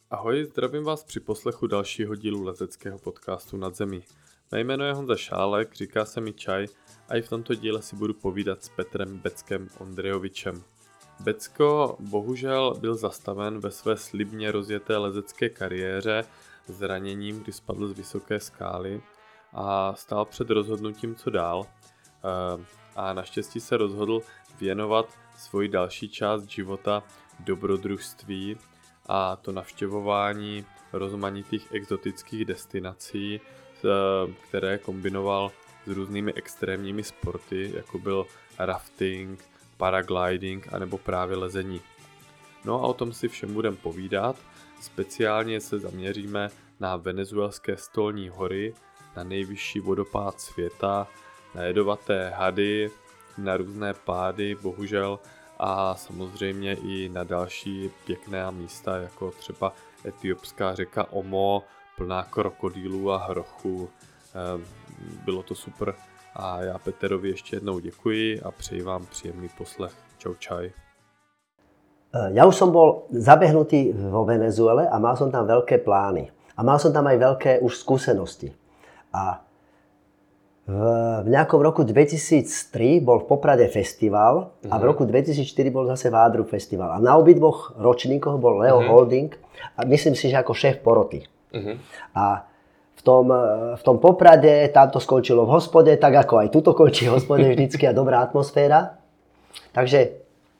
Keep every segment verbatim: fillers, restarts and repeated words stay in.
Ahoj, zdravím vás při poslechu dalšího dílu leteckého podcastu Nad zemí. Mé jméno je Honza Šálek, říká se mi Čaj a i v tomto díle si budu povídat s Petrem Beckem Ondrejovičem. Becko bohužel byl zastaven ve své slibně rozjeté lezecké kariéře zraněním, kdy spadl z vysoké skály a stál před rozhodnutím, co dál. A naštěstí se rozhodl věnovat svoji další část života dobrodružství, a to navštěvování rozmanitých exotických destinací, které kombinoval s různými extrémními sporty, jako byl rafting, paragliding anebo právě lezení. No a o tom si všem budeme povídat. Speciálně se zaměříme na venezuelské stolní hory, na nejvyšší vodopád světa, na jedovaté hady, na různé pády, bohužel, a samozřejmě i na další pěkná místa, jako třeba etiopská řeka Omo, plná krokodýlů a hrochů. Bylo to super a já Peterovi ještě jednou děkuji a přeji vám příjemný poslech. Čau, čaj. Ja už som bol zabehnutý vo Venezuele a mal som tam veľké plány. A mal som tam aj veľké už skúsenosti. A v, v nejakom roku dvetisíctri bol v Poprade festival a v roku dvetisícštyri bol zase Vádru festival. A na obidvoch ročníkoch bol Leo uh-huh. Holding a myslím si, že ako šéf poroty. Uh-huh. A v tom, v tom Poprade tam to skončilo v hospode, tak ako aj tuto končí v hospode vždycky a dobrá atmosféra. Takže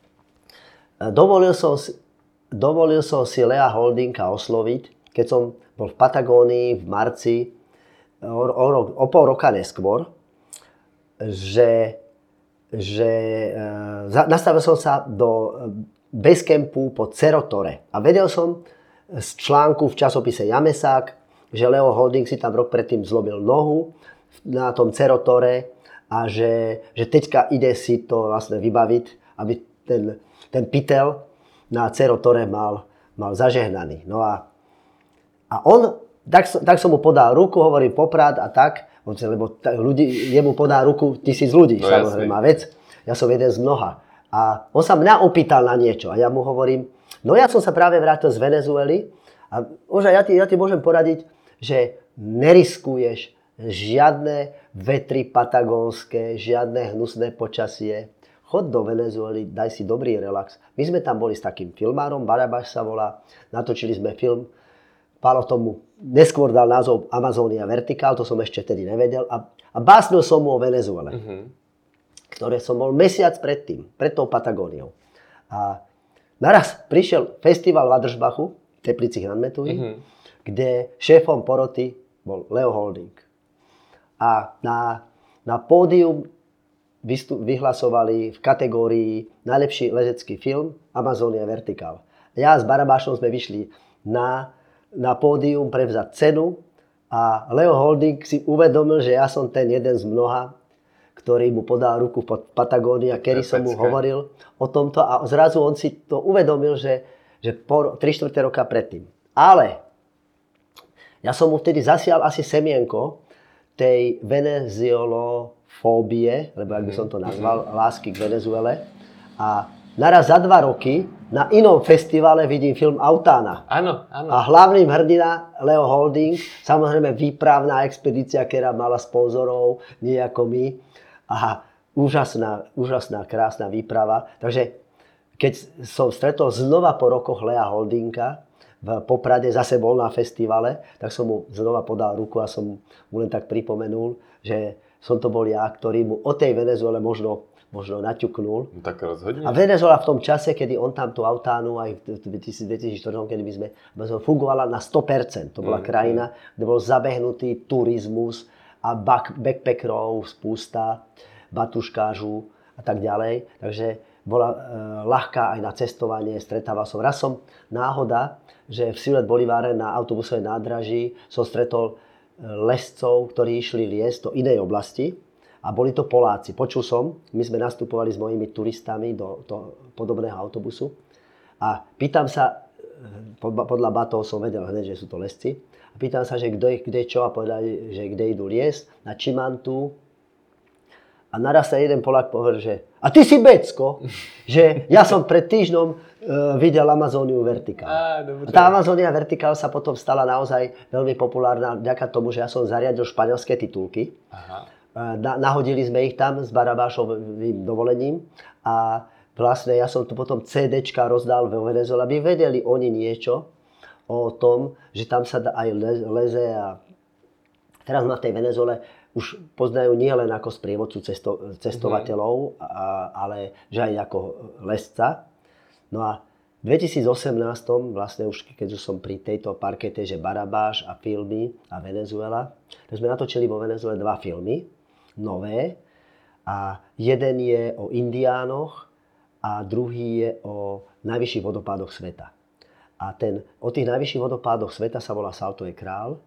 dovolil som, dovolil som si Lea Holdinga osloviť, keď som bol v Patagónii v marci, o, o, o pol roka neskôr, že, že e, nastavil som sa do basecampu pod Cerro Torre. A vedel som z článku v časopise Jamesák, že Leo Holding si tam rok predtým zlomil nohu na tom Cerro Torre a že, že teďka ide si to vlastne vybaviť, aby ten, ten pytel na Cerro Torre mal, mal zažehnaný. No a, a on, tak, tak som mu podal ruku, hovorím Poprad a tak, lebo ľudí, jemu podá ruku tisíc ľudí, no, samozrejme, vec. Ja som jeden z mnoha. A on sa mňa opýtal na niečo a ja mu hovorím, no ja som sa práve vrátil z Venezuely a možno ja ti, ja ti môžem poradiť, že neriskuješ žiadne vetry patagónske, žiadne hnusné počasie. Chod do Venezuely, daj si dobrý relax. My sme tam boli s takým filmárom, Barabáš sa volá, natočili sme film, Pálo tomu neskôr dal názov Amazonia Vertical, to som ešte tedy nevedel a, a básnil som mu o Venezuele, uh-huh. ktoré som bol mesiac predtým, pred tou Patagóniou. A naraz prišiel festival v Adržbachu, v Teplicích nad Metují, uh-huh. kde šéfom poroty bol Leo Holding. A na, na pódium vyhlasovali v kategórii najlepší lezecký film Amazonia Vertical. Ja s Barabášom sme vyšli na, na pódium prevzať cenu a Leo Holding si uvedomil, že ja som ten jeden z mnoha, ktorý mu podal ruku pod Patagónii a kedy som mu hovoril o tomto a zrazu on si to uvedomil, že, že po tri štvrte roka predtým. Ale ja som mu vtedy zasial asi semienko tej venezuelofóbie, lebo ak by som to nazval, lásky k Venezuele. A naraz za dva roky na inom festivale vidím film Autána. Áno, áno. A hlavným hrdina Leo Holding, samozrejme výpravná expedícia, ktorá mala sponzorov, nie ako my. A úžasná, úžasná, krásna výprava. Takže keď som stretol znova po rokoch Lea Holdinga v Poprade, zase bol na festivale, tak som mu znova podal ruku a som mu len tak pripomenul, že som to bol ja, ktorý mu o tej Venezuele možno, možno naťuknul. Tak rozhodne. A Venezuela v tom čase, kedy on tam tú Autánu aj v dvetisícštyri, kedy my sme, fungovala na sto percent. To bola mm, krajina, mm. kde bol zabehnutý turizmus a backpackerov spústa, batuškážu a tak ďalej. Takže bola e, ľahká aj na cestovanie, stretával som. Raz som náhoda, že v Ciudad Bolívar na autobusovej nádraží som stretol lescov, ktorí išli liesť do inej oblasti a boli to Poláci. Počul som, my sme nastupovali s mojimi turistami do, do podobného autobusu a pýtam sa, podľa batov som vedel hneď, že sú to lesci, a pýtam sa, že kde, kde čo a povedali, že kde idú liesť, na Čimantu. A naraz sa jeden Polák povedal, že A ty si Becko, že ja som pred týždňom uh, videl Amazoniu Vertical. Á, a tá Amazonia Vertical sa potom stala naozaj veľmi populárna vďaka tomu, že ja som zariadil španielské titulky. Aha. Na, nahodili sme ich tam s Barabášovým dovolením a vlastne ja som tu potom CDčka rozdal vo Venezuele, aby vedeli oni niečo o tom, že tam sa aj leze a teraz ma v tej Venezuele už poznajú nie len ako sprievodcu cesto, cestovateľov, mm-hmm. a, ale že aj ako lesca. No a v dvetisícosemnásť, vlastne už keď už som pri tejto parkete, že Barabáš a filmy a Venezuela, tak sme natočili vo Venezuele dva filmy, nové. A jeden je o indiánoch a druhý je o najvyšších vodopádoch sveta. A ten, o tých najvyšších vodopádoch sveta sa volá Salto de Král.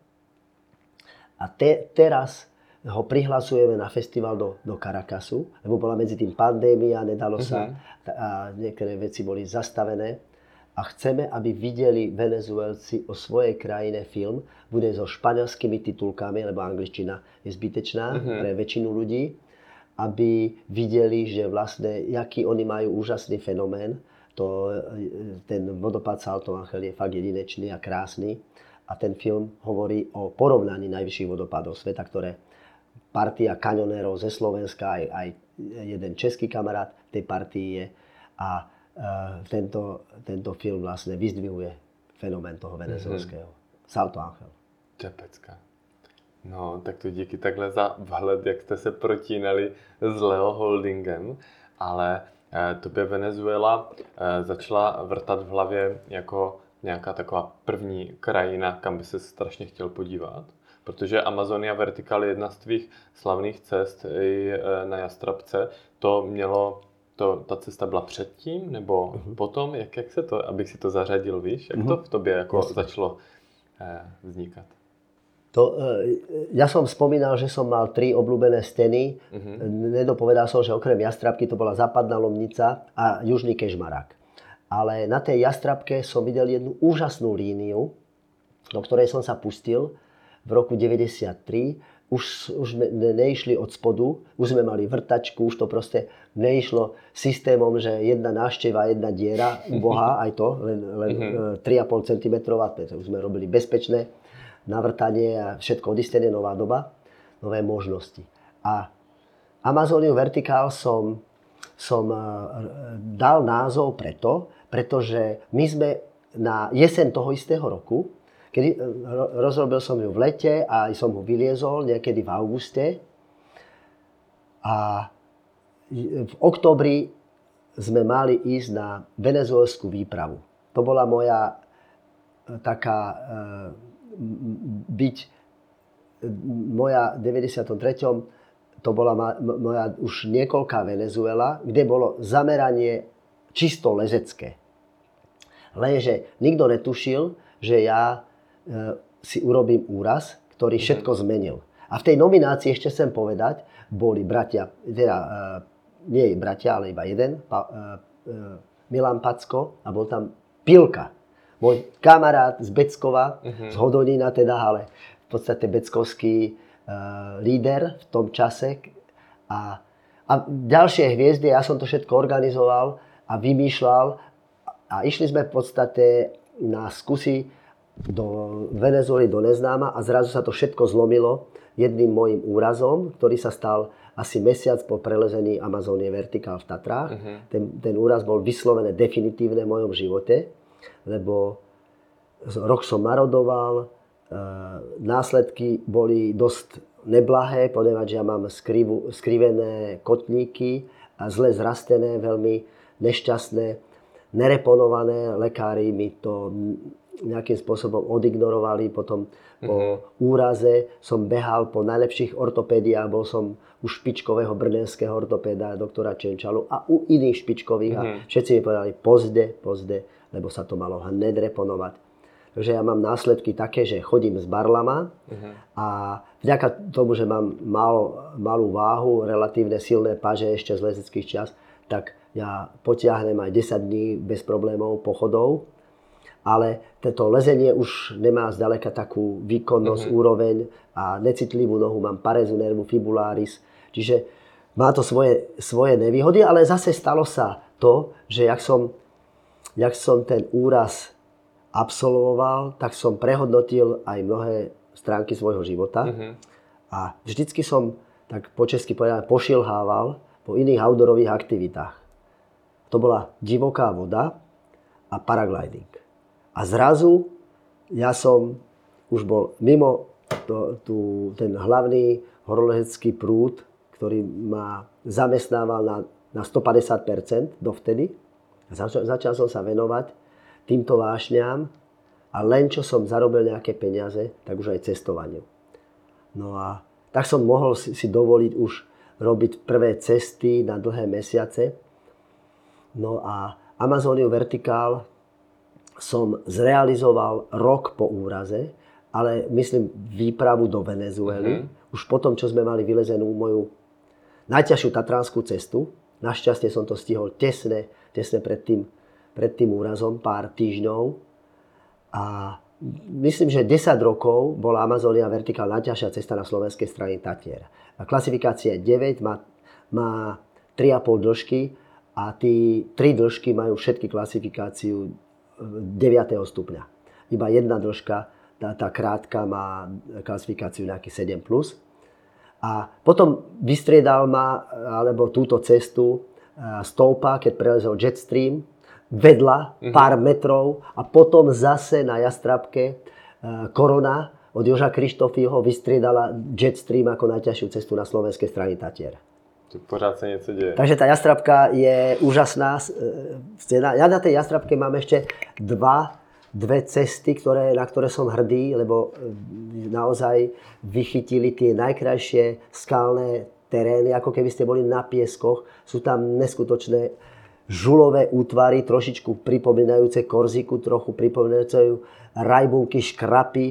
A te, teraz ho prihlasujeme na festival do, do Caracasu, lebo bola medzi tým pandémia, nedalo sa, uh-huh. a niektoré veci boli zastavené. A chceme, aby videli Venezuelci o svojej krajine film, bude so španielskými titulkami, lebo angličtina je zbytečná uh-huh. pre väčšinu ľudí, aby videli, že vlastne, jaký oni majú úžasný fenomén. To, ten vodopád Salto Ángel je fakt jedinečný a krásny. A ten film hovorí o porovnaní najvyšších vodopádov sveta, ktoré partia kaňonérov ze Slovenska, aj, aj jeden český kamarát v tej partii je. A uh, tento, tento film vlastne vyzdvihuje fenomén toho venezuelského. Mm-hmm. Salto Ángel. Čepecka. No, tak to díky takhle za vhled, jak jste se protínali s Leo Holdingem. Ale eh, tobě Venezuela eh, začala vrtat v hlavě jako nějaká taková první krajina, kam by se strašně chtěl podívat. Protože Amazonia Vertical je jedna z tvých slavných cest i na Jastrabce. To mělo, to, ta cesta byla předtím nebo uh-huh. potom? Jak, jak se to, abych si to zařadil, víš? Jak uh-huh. to v tobě jako Jasne. začalo eh, vznikat? To, ja som spomínal, že som mal tri obľúbené steny. Uh-huh. Nedopovedal som, že okrem Jastrabky to bola Západná Lomnica a Južný Kežmarák. Ale na tej Jastrabke som videl jednu úžasnú líniu, do ktorej som sa pustil v roku deväťdesiattri. Už, už sme neišli od spodu, už sme mali vrtačku, už to proste neišlo systémom, že jedna návšteva, jedna diera, ubohá, aj to, len, len uh-huh. tri a pol centimetra, už sme robili bezpečné navrtanie a všetko odistené, nová doba, nové možnosti. A Amazoniu Vertical som, som dal názov preto, pretože my sme na jeseň toho istého roku, kedy rozrobil som ju v lete a som ho vyliezol niekedy v auguste. A v októbri sme mali ísť na venezuelskú výpravu. To bola moja taká byť moja v deväťdesiatom treťom to bola moja už niekoľká Venezuela, kde bolo zameranie čisto lezecké. Lenže nikto netušil, že ja e, si urobím úraz, ktorý všetko zmenil. A v tej nominácii ešte chcem povedať, boli bratia, teda e, nie bratia, ale iba jeden, pa, e, e, Milan Packo a bol tam Pilka. Môj kamarát z Beckova, uh-huh. z Hodonína teda, ale v podstate beckovský uh, líder v tom čase. A, a ďalšie hviezdy, ja som to všetko organizoval a vymýšľal. A išli sme v podstate na skúsi do Venezuely, do neznáma a zrazu sa to všetko zlomilo jedným môjim úrazom, ktorý sa stal asi mesiac po prelezení Amazónie Vertical v Tatrách. Uh-huh. Ten, ten úraz bol vyslovené definitívne v mojom živote, lebo rok som marodoval, e, následky boli dosť neblahé, ponieważ ja mám skrivu, skrivené kotníky a zle zrastené, veľmi nešťastné, nereponované. Lekári mi to nejakým spôsobom odignorovali. Potom po mm-hmm. úraze som behal po najlepších ortopédiách, bol som u špičkového brněnského ortopéda, doktora Čenčalu a u iných špičkových. Mm-hmm. A všetci mi povedali pozde, pozde, lebo sa to malo hned reponovať. Takže ja mám následky také, že chodím s barlama uh-huh. a vďaka tomu, že mám mal, malú váhu, relatívne silné paže ešte z lezeckých čas, tak ja potiahnem aj desať dní bez problémov pochodov. Ale toto lezenie už nemá zďaleka takú výkonnosť, uh-huh. úroveň a necitlivú nohu, mám parezu nervu fibularis. Čiže má to svoje, svoje nevýhody, ale zase stalo sa to, že jak som, jak som ten úraz absolvoval, tak som prehodnotil aj mnohé stránky svojho života. Mm-hmm. A vždycky som, tak po česky povedané, pošilhával po iných outdoorových aktivitách. To bola divoká voda a paragliding. A zrazu ja som už bol mimo to, tu, ten hlavný horolezecký prúd, ktorý ma zamestnával na, na stopäťdesiat percent dovtedy. Začal, začal som sa venovať týmto vášňam a len čo som zarobil nejaké peniaze, tak už aj cestovaniu. No a tak som mohol si, si dovoliť už robiť prvé cesty na dlhé mesiace. No a Amazoniu Vertikál som zrealizoval rok po úraze, ale myslím výpravu do Venezuely. Mm-hmm. Už potom, čo sme mali vylezenú moju najťažšiu tatranskú cestu. Našťastie som to stihol tesne, tesne pred tým, pred tým úrazom, pár týždňov. A myslím, že desať rokov bola Amazonia Vertikál najťažšia cesta na slovenskej strane Tatier. A klasifikácia deväť, má, má tri a pol dĺžky a tí tri dĺžky majú všetky klasifikáciu deviateho stupňa. Iba jedna dĺžka, tá, tá krátka, má klasifikáciu nejaký sedem plus. A potom vystriedal ma, alebo túto cestu stoupa, keď prelezol Jetstream, vedla pár mm-hmm. metrov a potom zase na Jastrabke Korona od Joža Krištofího vystriedala Jetstream ako najťažšiu cestu na slovenskej strane Tatier. Tu pořád sa niečo deje. Takže tá Jastrabka je úžasná. Ja na tej Jastrabke mám ešte dva, dve cesty, ktoré, na ktoré som hrdý, lebo naozaj vychytili tie najkrajšie skalné terény, ako keby ste boli na pieskoch. Sú tam neskutočné žulové útvary, trošičku pripomínajúce Korziku, trochu pripomínajúce rajbunky, škrapy, e,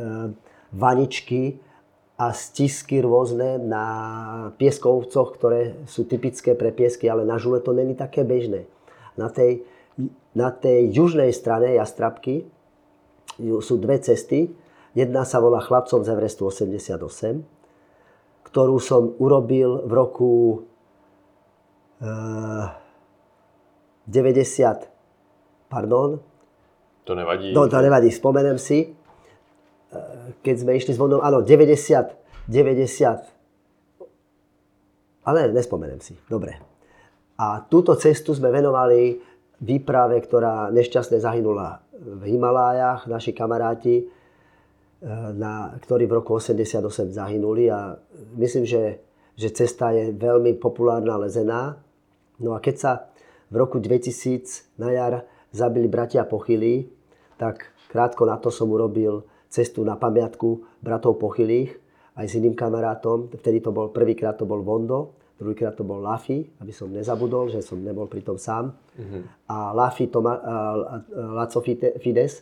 vaničky a stisky rôzne na pieskovcoch, ktoré sú typické pre piesky, ale na žule to není také bežné. Na tej, na tej južnej strane Jastrabky sú dve cesty. Jedna sa volá Chlapcom z Everestu osemdesiatosem, ktorú som urobil v roku e, deväťdesiat, pardon. To nevadí. No, to nevadí, spomenem si. Keď sme išli s vodou, áno, deväťdesiat, deväťdesiat, ale nespomenem si, dobre. A túto cestu sme venovali výprave, ktorá nešťastne zahynula v Himalájach, naši kamaráti, na, ktorí v roku osemdesiatosem zahynuli a myslím, že, že cesta je veľmi populárna lezená. No a keď sa v roku dvetisíc na jar zabili bratia Pochylí, tak krátko na to som urobil cestu na pamiatku bratov Pochylých aj s iným kamarátom. Vtedy to bol, prvýkrát to bol Vondo, druhýkrát to bol Lafi, aby som nezabudol, že som nebol pritom sám. Mm-hmm. A Lafi, Toma, a Laco Fides.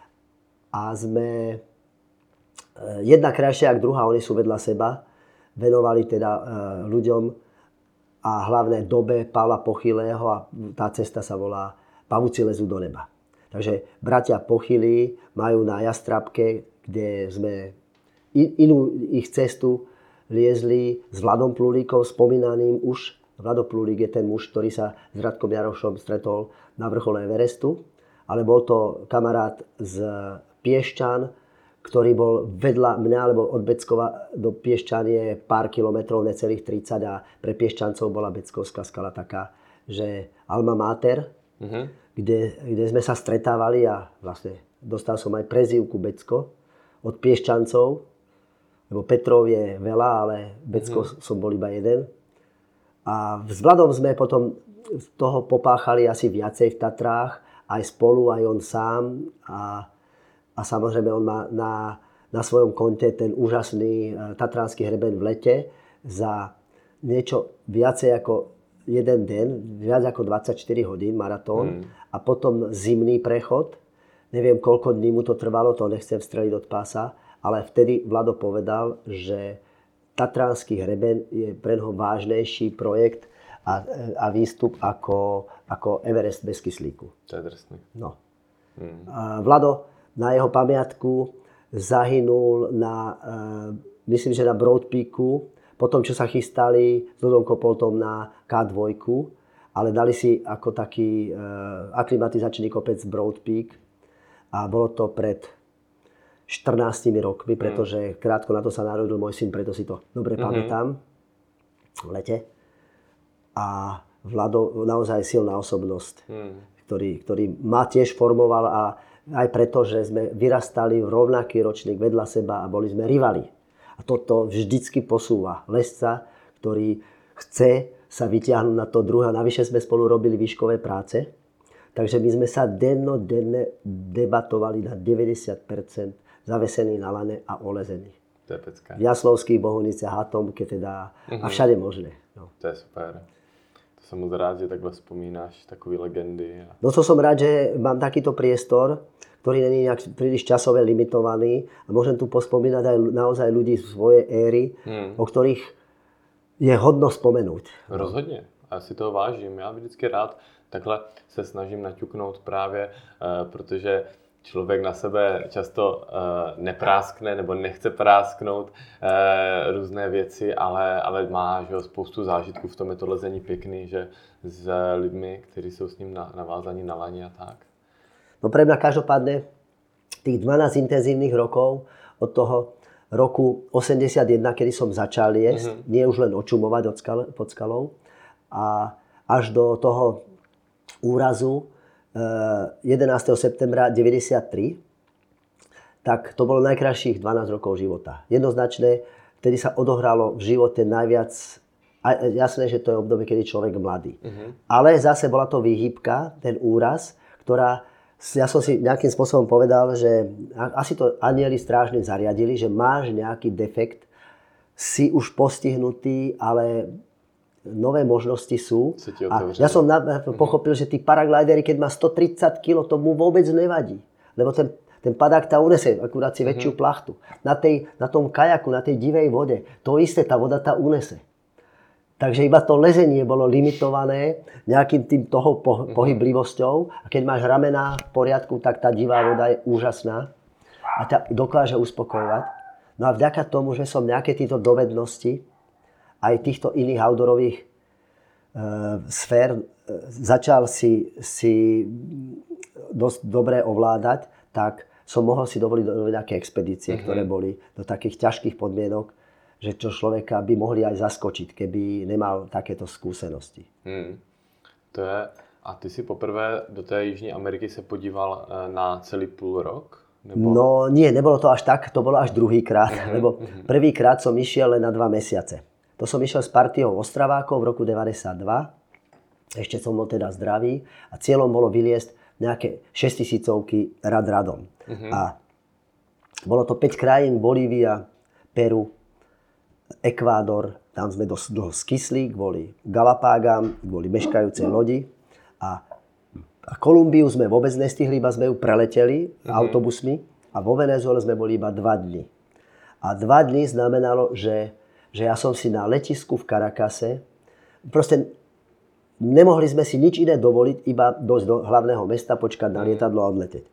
A sme jedna krajšia ako druhá, oni sú vedľa seba, venovali teda ľuďom a hlavne dobe Pavla Pochylého a tá cesta sa volá Pavúci lezú do neba. Takže bratia Pochylí majú na Jastrabke, kde sme inú ich cestu liezli s Vladom Plulíkom, spomínaným už. Vlado Plulík je ten muž, ktorý sa s Radkom Jarošom stretol na vrchole Everestu, ale bol to kamarát z Piešťan, ktorý bol vedľa mňa, lebo od Beckova do Piešťan je pár kilometrov, necelých tridsať a pre Piešťancov bola Beckovská skala taká, že alma mater, mm-hmm. Kde, kde sme sa stretávali a vlastne dostal som aj prezývku Becko od Piešťancov, lebo Petrov je veľa, ale Becko mm. som bol iba jeden. A s Vladom sme potom toho popáchali asi viacej v Tatrách, aj spolu, aj on sám. A, a samozrejme on má na, na svojom konte ten úžasný tatranský hreben v lete za niečo viacej ako jeden deň, viac ako dvadsaťštyri hodín maratón mm. a potom zimný prechod. Neviem, koľko dní mu to trvalo, to nechcem streliť od pása, ale vtedy Vlado povedal, že tatranský hreben je pre neho vážnejší projekt a, a výstup ako, ako Everest bez kyslíku. To je drsný. No. Mm. A Vlado na jeho pamiatku zahynul na, myslím, že na Broad Peaku potom, čo sa chystali s Dodom Kopoltom na ká dva, ale dali si ako taký e, aklimatizačný kopec Broad Peak a bolo to pred štrnástimi rokmi, pretože krátko na to sa narodil môj syn, preto si to dobre mm-hmm. pamätám v lete. A Vlado naozaj silná osobnosť, mm. ktorý, ktorý ma tiež formoval a aj preto, že sme vyrastali v rovnaký ročník vedľa seba a boli sme rivali. A toto vždycky posúva lesca, ktorý chce sa vyťahnuť na to druhé. Navyše sme spolu robili výškové práce, takže my sme sa dennodenne debatovali na deväťdesiat percent zavesení na lane a olezení. To je pecka. V Jaslovských, Bohuniciach, Atomke teda uh-huh. a všade možné. No. To je super. Som moc rád, že takhle spomínaš takové legendy. No to som rád, že mám takýto priestor, ktorý není nejak príliš časové limitovaný a môžem tu pospomínať aj naozaj ľudí z svojej éry, hmm. o ktorých je hodno spomenúť. Rozhodně. A já si toho vážím. Já vždycky rád takhle se snažím naťuknout právě, uh, protože člověk na sebe často uh, nepráskne nebo nechce prásknout uh, různé věci, ale, ale má že, spoustu zážitků. V tom je to lezení pěkný, že s lidmi, kteří jsou s ním na, navázaní na lani a tak. No pre mňa každopádne tých dvanásť intenzívnych rokov od toho roku osemdesiatjeden, kedy som začal jesť, mm-hmm. nie už len očumovať od skal, pod skalou, a až do toho úrazu jedenásteho septembra deväťdesiattri, tak to bolo najkrajších dvanásť rokov života. Jednoznačne, vtedy sa odohralo v živote najviac, a jasné, že to je obdobie, kedy človek mladý. Uh-huh. Ale zase bola to výhybka, ten úraz, ktorá, ja som si nejakým spôsobom povedal, že asi to anjeli strážne zariadili, že máš nejaký defekt, si už postihnutý, ale nové možnosti sú. A ja som na, pochopil, že tí paraglidery, keď má stotridsať kilogramov, to mu vôbec nevadí. Lebo ten, ten padák tá unese, akurát si väčšiu plachtu. Na, tej, na tom kajaku, na tej divej vode, to isté, tá voda tá unese. Takže iba to lezenie bolo limitované nejakým tým toho po, pohyblivosťou. A keď máš ramená v poriadku, tak tá divá voda je úžasná a ťa dokáže uspokojovať. No a vďaka tomu, že som nejaké tieto dovednosti aj týchto iných outdoorových e, sfér e, začal si, si dosť dobre ovládať, tak som mohol si dovoliť do nejaké expedície, mm-hmm. ktoré boli do takých ťažkých podmienok, že čo človeka by mohli aj zaskočiť, keby nemal takéto skúsenosti. Hmm. To je... A ty si poprvé do té Jižní Ameriky se podíval na celý půl rok? Nebo... No nie, nebolo to až tak, to bolo až druhýkrát, uh-huh. lebo prvýkrát som išiel len na dva mesiace. To som išiel s partiou Ostravákov v roku deväťdesiatdva, ešte som bol teda zdravý a cieľom bolo vyliesť nejaké šesťtisícovky rad radom. Uh-huh. A bolo to päť krajín, Bolívia, Peru, Ekvádor, tam sme dosť dlho skysli kvôli Galapágam, kvôli meškajúcej lodi a, a Kolumbiu sme vôbec nestihli, iba sme ju preleteli mm-hmm. autobusmi a vo Venezuele sme boli iba dva dni. A dva dni znamenalo, že, že ja som si na letisku v Caracase, proste nemohli sme si nič iné dovoliť, iba dojsť do hlavného mesta, počkať na lietadlo a odleteť.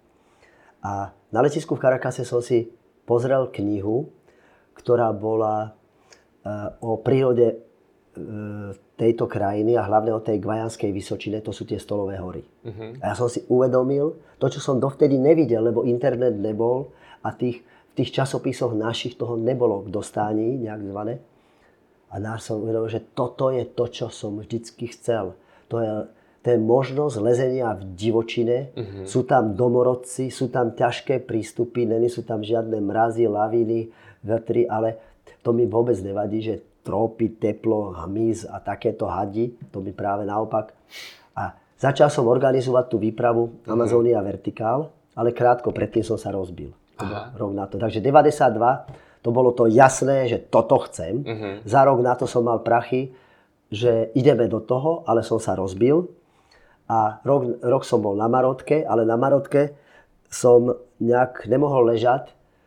A na letisku v Caracase som si pozrel knihu, ktorá bola o prírode tejto krajiny a hlavne o tej Guajanskej Vysočine, to sú tie Stolové hory. Uh-huh. A ja som si uvedomil to, čo som dovtedy nevidel, lebo internet nebol a tých, v tých časopisoch našich toho nebolo k dostání, nejak zvané. A náš som uvedomil, že toto je to, čo som vždycky chcel. To je, to je možnosť lezenia v divočine. Uh-huh. Sú tam domorodci, sú tam ťažké prístupy, není sú tam žiadne mrazy, laviny, vetry, ale to mi vôbec nevadí, že trópy, teplo, hmyz a takéto hadi, to mi práve naopak. A začal som organizovať tú výpravu Amazonia Vertikál, ale krátko predtým som sa rozbil. Rok na to. Takže deväťdesiatdva, to bolo to jasné, že toto chcem. Uh-huh. Za rok na to som mal prachy, že ideme do toho, ale som sa rozbil. A rok, rok som bol na Marotke, ale na Marotke som nejak nemohol ležať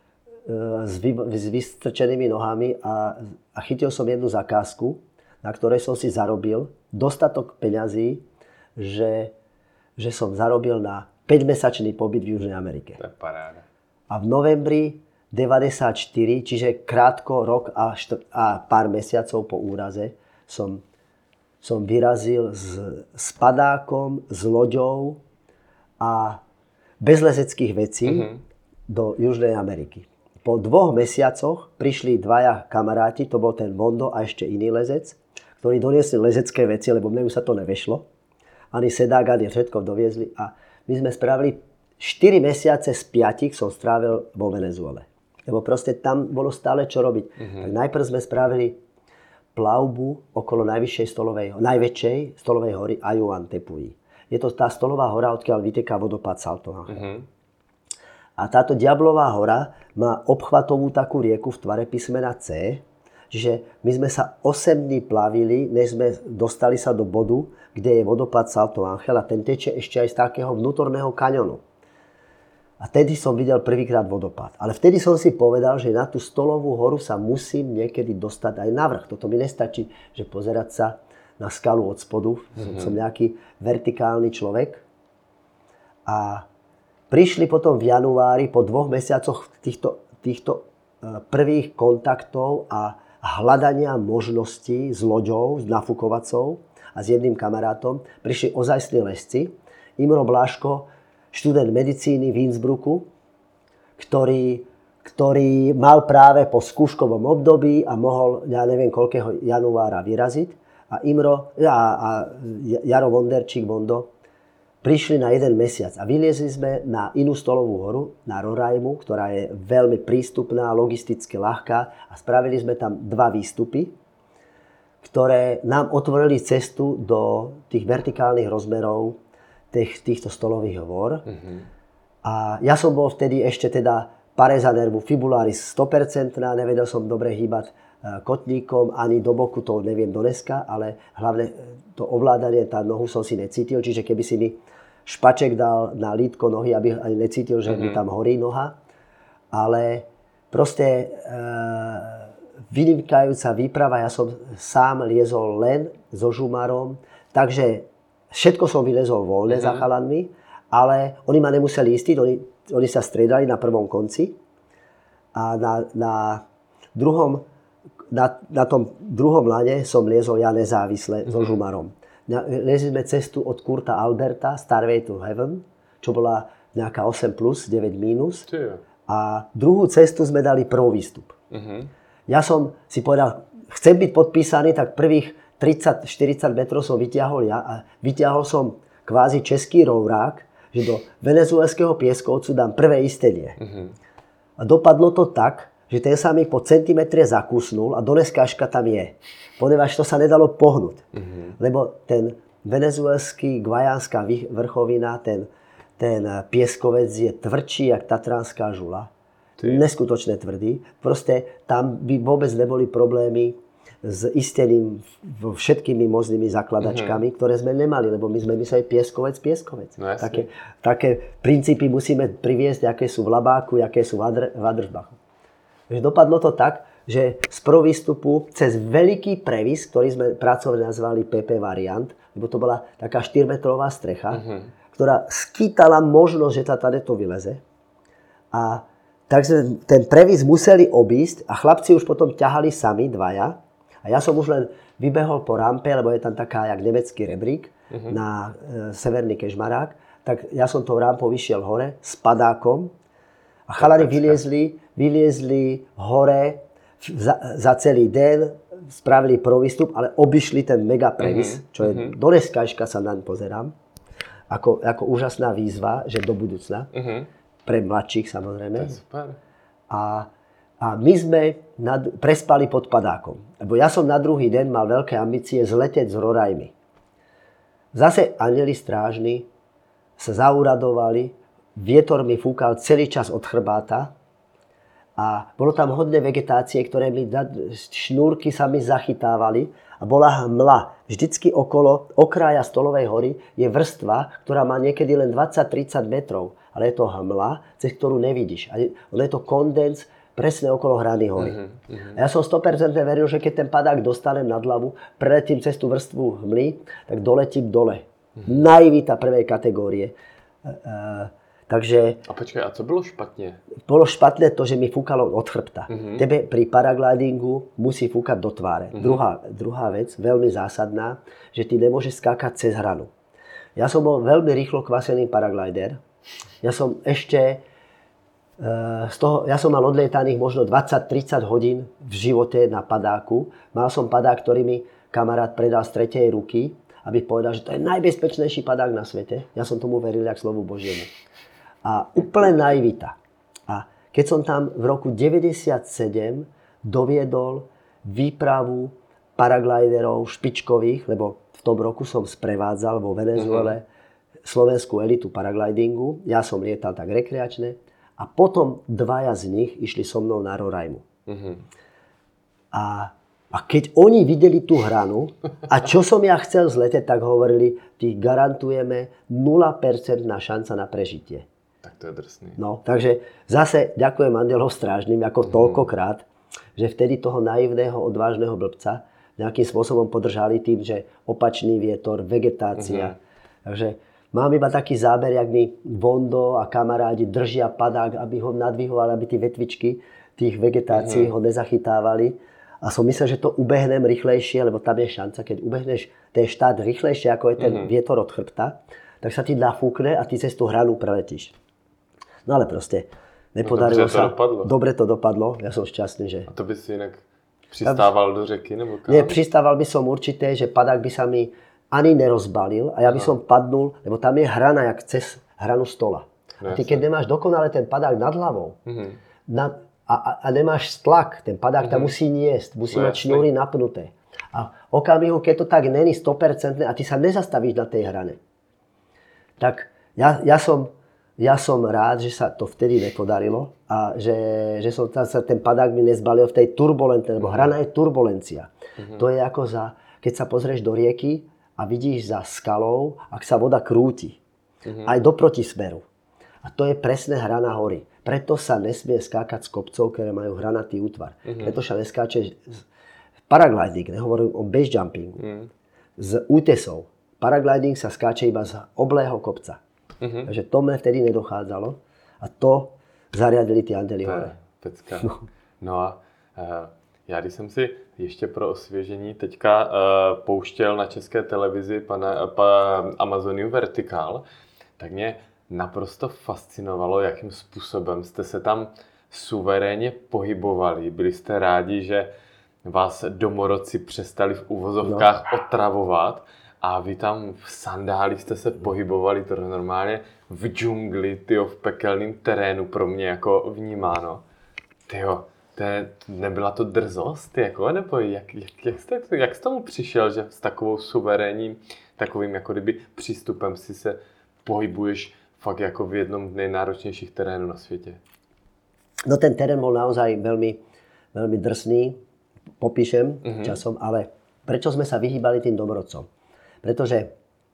s, vy, s vystrčenými nohami a, a chytil som jednu zakázku, na ktorej som si zarobil dostatok peňazí, že, že som zarobil na päťmesačný pobyt v Južnej Amerike. To je paráda. A v novembri deväťdesiatštyri, čiže krátko, rok a, štr- a pár mesiacov po úraze som, som vyrazil s, s padákom, s loďou a bez lezeckých vecí uh-huh. do Južnej Ameriky. Po dvoch mesiacoch prišli dvaja kamaráti, to bol ten Mondo a ešte iný lezec, ktorí doniesli lezecké veci, lebo mne už sa to nevešlo. Ani sedák, ani všetko doviezli a my sme spravili štyri mesiace z piatich som strávil vo Venezuele. Lebo proste tam bolo stále čo robiť. Uh-huh. Tak najprv sme spravili plavbu okolo najvyššej stolovej, najväčšej stolovej hory Ayuan Tepuy. Je to tá stolová hora, odkiaľ vyteká vodopád Salto Ángel. Uh-huh. A táto Diablová hora má obchvatovú takú rieku v tvare písmena C. Čiže my sme sa osem dní plavili, než sme dostali sa do bodu, kde je vodopád Salto Ángel a ten teče ešte aj z takého vnútorného kaňonu. A vtedy som videl prvýkrát vodopád. Ale vtedy som si povedal, že na tú stolovú horu sa musím niekedy dostať aj na vrch. Toto mi nestačí, že pozerať sa na skalu od spodu. Mm-hmm. Som nejaký vertikálny človek. A prišli potom v januári, po dvoch mesiacoch týchto, týchto prvých kontaktov a hľadania možností s loďou, s nafukovacou a s jedným kamarátom, prišli ozajstní lesci. Imro Bláško, študent medicíny v Innsbrucku, ktorý, ktorý mal práve po skúškovom období a mohol, ja neviem, koľkého januára vyraziť. A Imro a, a Jaro Vonderčík, Vondo, prišli na jeden mesiac a vyliezli sme na inú stolovú horu, na Roraimu, ktorá je veľmi prístupná, logisticky ľahká a spravili sme tam dva výstupy, ktoré nám otvorili cestu do tých vertikálnych rozmerov tých, týchto stolových hôr. Mm-hmm. A ja som bol vtedy ešte teda pareza nervu fibularis sto percent, nevedel som dobre hýbať kotníkom, ani do boku, to neviem do dneska, ale hlavne to ovládanie, tá nohu som si necítil, čiže keby si mi špaček dal na lítko nohy, aby ani necítil, že mi tam horí noha. Ale proste e, vynikajúca výprava, ja som sám liezol len so žumarom, takže všetko som vylezol voľne uh-huh. za chalanmi, ale oni ma nemuseli istiť, oni, oni sa striedali na prvom konci a na, na druhom Na, na tom druhom lane som liezol ja nezávisle mm-hmm. so žumarom. Liezli sme cestu od Kurta Alberta, Starway to Heaven, čo bola nejaká osem plus, deväť mínus. A druhú cestu sme dali prvý výstup. Mm-hmm. Ja som si povedal, chcem byť podpísaný, tak prvých tridsať štyridsať metrov som vyťahol ja a vyťahol som kvázi český rourák, že do venezuelského pieskovcu dám prvé istenie. Mm-hmm. A dopadlo to tak, že ten sa mi po centimetre zakusnul a doneskážka tam je. Poneváž to sa nedalo pohnúť. Mm-hmm. Lebo ten venezuelský guajánska vrchovina, ten, ten pieskovec je tvrdší jak tatranská žula. Ty. Neskutočne tvrdý. Proste tam by vôbec neboli problémy s isteným všetkými možnými zakladačkami, mm-hmm. ktoré sme nemali, lebo my sme mysleli pieskovec, pieskovec. No, také, také princípy musíme priviesť, aké sú v Labáku, aké sú v Adržbachu. Dopadlo to tak, že z prvého výstupu cez veľký previs, ktorý sme pracovne nazvali pé pé variant, lebo to bola taká štyrmetrová strecha, uh-huh. ktorá skýtala možnosť, že tá tady to vyleze. A tak sme ten previs museli obísť a chlapci už potom ťahali sami, dvaja. A ja som už len vybehol po rampe, lebo je tam taká jak nemecký rebrík uh-huh. na e, severný Kežmarák. Tak ja som tou rampou vyšiel hore s padákom a chalani vyliezli vyliezli hore za, za celý deň, spravili prvý výstup, ale obišli ten mega previs, uh-huh. čo je uh-huh. do dneskažka sa naň pozerám, ako, ako úžasná výzva, že do budúcna, uh-huh. pre mladších samozrejme. Super. A, a my sme nad, prespali pod padákom, lebo ja som na druhý deň mal veľké ambície zletieť z Roraimy. Zase anjeli strážni sa zauradovali, vietor mi fúkal celý čas od chrbáta, a bolo tam hodne vegetácie, ktoré mi, šnúrky sa mi zachytávali a bola hmla. Vždycky okolo okraja Stolovej hory je vrstva, ktorá má niekedy len dvadsať tridsať metrov. Ale je to hmla, cez ktorú nevidíš. A je to kondens presne okolo hrany hory. Uh-huh, uh-huh. A ja som sto percent veril, že keď ten padák dostanem nad hlavu, preletím cez tú vrstvu hmly, tak doletím dole. Uh-huh. Naivita prvej kategórie. Uh, Takže... A počkej, a co bylo špatně? Bolo špatné to, že mi fúkalo od chrbta. Mm-hmm. Tebe pri paraglidingu musí fúkať do tváre. Mm-hmm. Druhá, druhá vec, veľmi zásadná, že ty nemôžeš skákať cez hranu. Ja som bol veľmi rýchlo kvasený paraglider. Ja som ešte... Z toho, ja som mal odlietaných možno dvadsať tridsať hodín v živote na padáku. Mal som padák, ktorý mi kamarát predal z tretej ruky, aby povedal, že to je najbezpečnejší padák na svete. Ja som tomu veril jak slovu Božiemu. A úplne naivita. A keď som tam v roku deväťdesiatsedem doviedol výpravu paragliderov špičkových, lebo v tom roku som sprevádzal vo Venezuele uh-huh. slovenskú elitu paraglidingu. Ja som lietal tak rekreačne. A potom dvaja z nich išli so mnou na Roraimu. Uh-huh. A, a keď oni videli tú hranu, a čo som ja chcel zletieť, tak hovorili, ty garantujeme nula percent šanca na prežitie. Tak to je drsný. No, takže zase ďakujem andelov strážnym ako mm. toľkokrát, že vtedy toho naivného, odvážneho blbca nejakým spôsobom podržali tým, že opačný vietor, vegetácia. Mm. Takže mám iba taký záber, jak mi Vondo a kamarádi držia padák, aby ho nadvihovali, aby tie vetvičky tých vegetácií mm. ho nezachytávali. A som myslel, že to ubehnem rýchlejšie, lebo tam je šanca, keď ubehneš ten štát rýchlejšie, ako je ten mm. vietor od chrbta, tak sa ti nafúkne a ty cez tú hranu preletíš. No ale proste nepodarilo no, sa. To dopadlo. Dobre to dopadlo. Ja som šťastný, že... A to by si inak přistával do řeky nebo kam? Nie, přistával by som určite, že padák by sa mi ani nerozbalil a ja by Aha. som padnul, lebo tam je hrana jak cez hranu stola. No, a ty keď nemáš dokonale ten padák nad hlavou mm-hmm. nad, a, a nemáš tlak, ten padák mm-hmm. tam musí niesť, musí no, mať šňúry napnuté. A okamihu, keď to tak není sto percent a ty sa nezastavíš na tej hrane, tak ja, ja som Ja som rád, že sa to vtedy nepodarilo a že, že som tam sa ten padák mi nezbalil v tej turbulencii, lebo hrana je turbulencia. Mm-hmm. To je ako za, keď sa pozrieš do rieky a vidíš za skalou, ak sa voda krúti. Mm-hmm. Aj do protismeru. A to je presne hrana hory. Preto sa nesmie skákať z kopcov, ktoré majú hranatý útvar. Mm-hmm. Preto sa neskáče paragliding, nehovorím o base jumpingu. Mm-hmm. Z útesov. Paragliding sa skáče iba z oblého kopca. Uh-huh. Takže to mne vtedy nedochádzalo a to zariadili ty andely hore. Pecka. No. no a uh, já když jsem si ještě pro osvěžení teďka uh, pouštěl na české televizi pana, pa, Amazoniu Vertical, tak mě naprosto fascinovalo, jakým způsobem jste se tam suverénně pohybovali. Byli jste rádi, že vás domorodci přestali v uvozovkách no. otravovat. A vy tam v sandálích jste se pohybovali, to normálně v džungli, tyjo, v pekelném terénu pro mě jako vnímáno. Tyjo, to je, nebyla to drzost, jako, nebo jak, jak, jak, jste, jak jste tomu přišel, že s takovou suverénním, takovým jako kdyby přístupem si se pohybuješ fakt jako v jednom z nejnáročnějších terénů na světě? No ten terén bol naozaj veľmi, veľmi drsný, popíšem mm-hmm. časom, ale prečo sme sa vyhýbali tým domorodcom? Pretože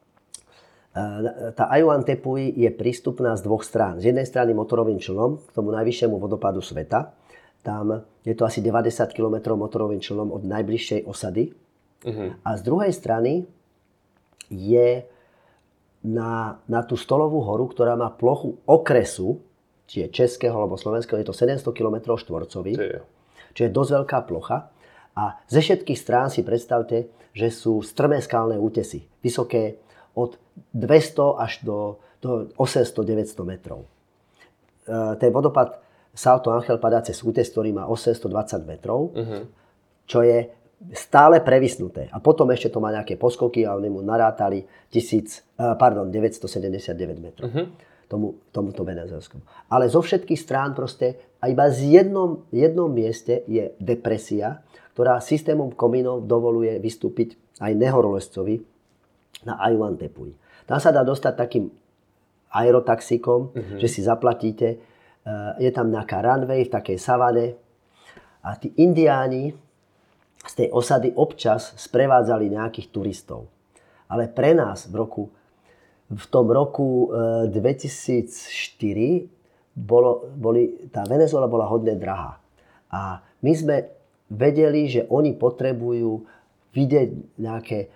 tá Ayuan Tepuy je prístupná z dvoch strán. Z jednej strany motorovým člnom k tomu najvyššiemu vodopádu sveta. Tam je to asi deväťdesiat kilometrov motorovým člnom od najbližšej osady. Uh-huh. A z druhej strany je na, na tú Stolovú horu, ktorá má plochu okresu, či je českého alebo slovenského, je to sedemsto kilometrov štvorcových. Čiže je dosť veľká plocha. A ze všetkých strán si predstavte, že sú strmé skalné útesy, vysoké od dvesto až do, do osemsto deväťsto metrov. E, ten vodopád Salto Ángel padá cez útes, ktorý má osemstodvadsať metrov, uh-huh. čo je stále previsnuté. A potom ešte to má nejaké poskoky a oni mu narátali tisíc, pardon, deväťstosedemdesiatdeväť metrov. Uh-huh. Tomu, tomuto venezuelskému. Ale zo všetkých strán proste a iba z jednom, jednom mieste je depresia, ktorá systémom komínov dovoluje vystúpiť aj nehorolezcovi na Ayuan Tepuy. Tam sa dá dostať takým aerotaxíkom, uh-huh. že si zaplatíte. Je tam nejaká runway v takej savane a tí indiáni z tej osady občas sprevádzali nejakých turistov. Ale pre nás v roku v tom roku dvetisícštyri bolo, boli, tá Venezuela bola hodne drahá. A my sme vedeli, že oni potrebujú vidieť nejaké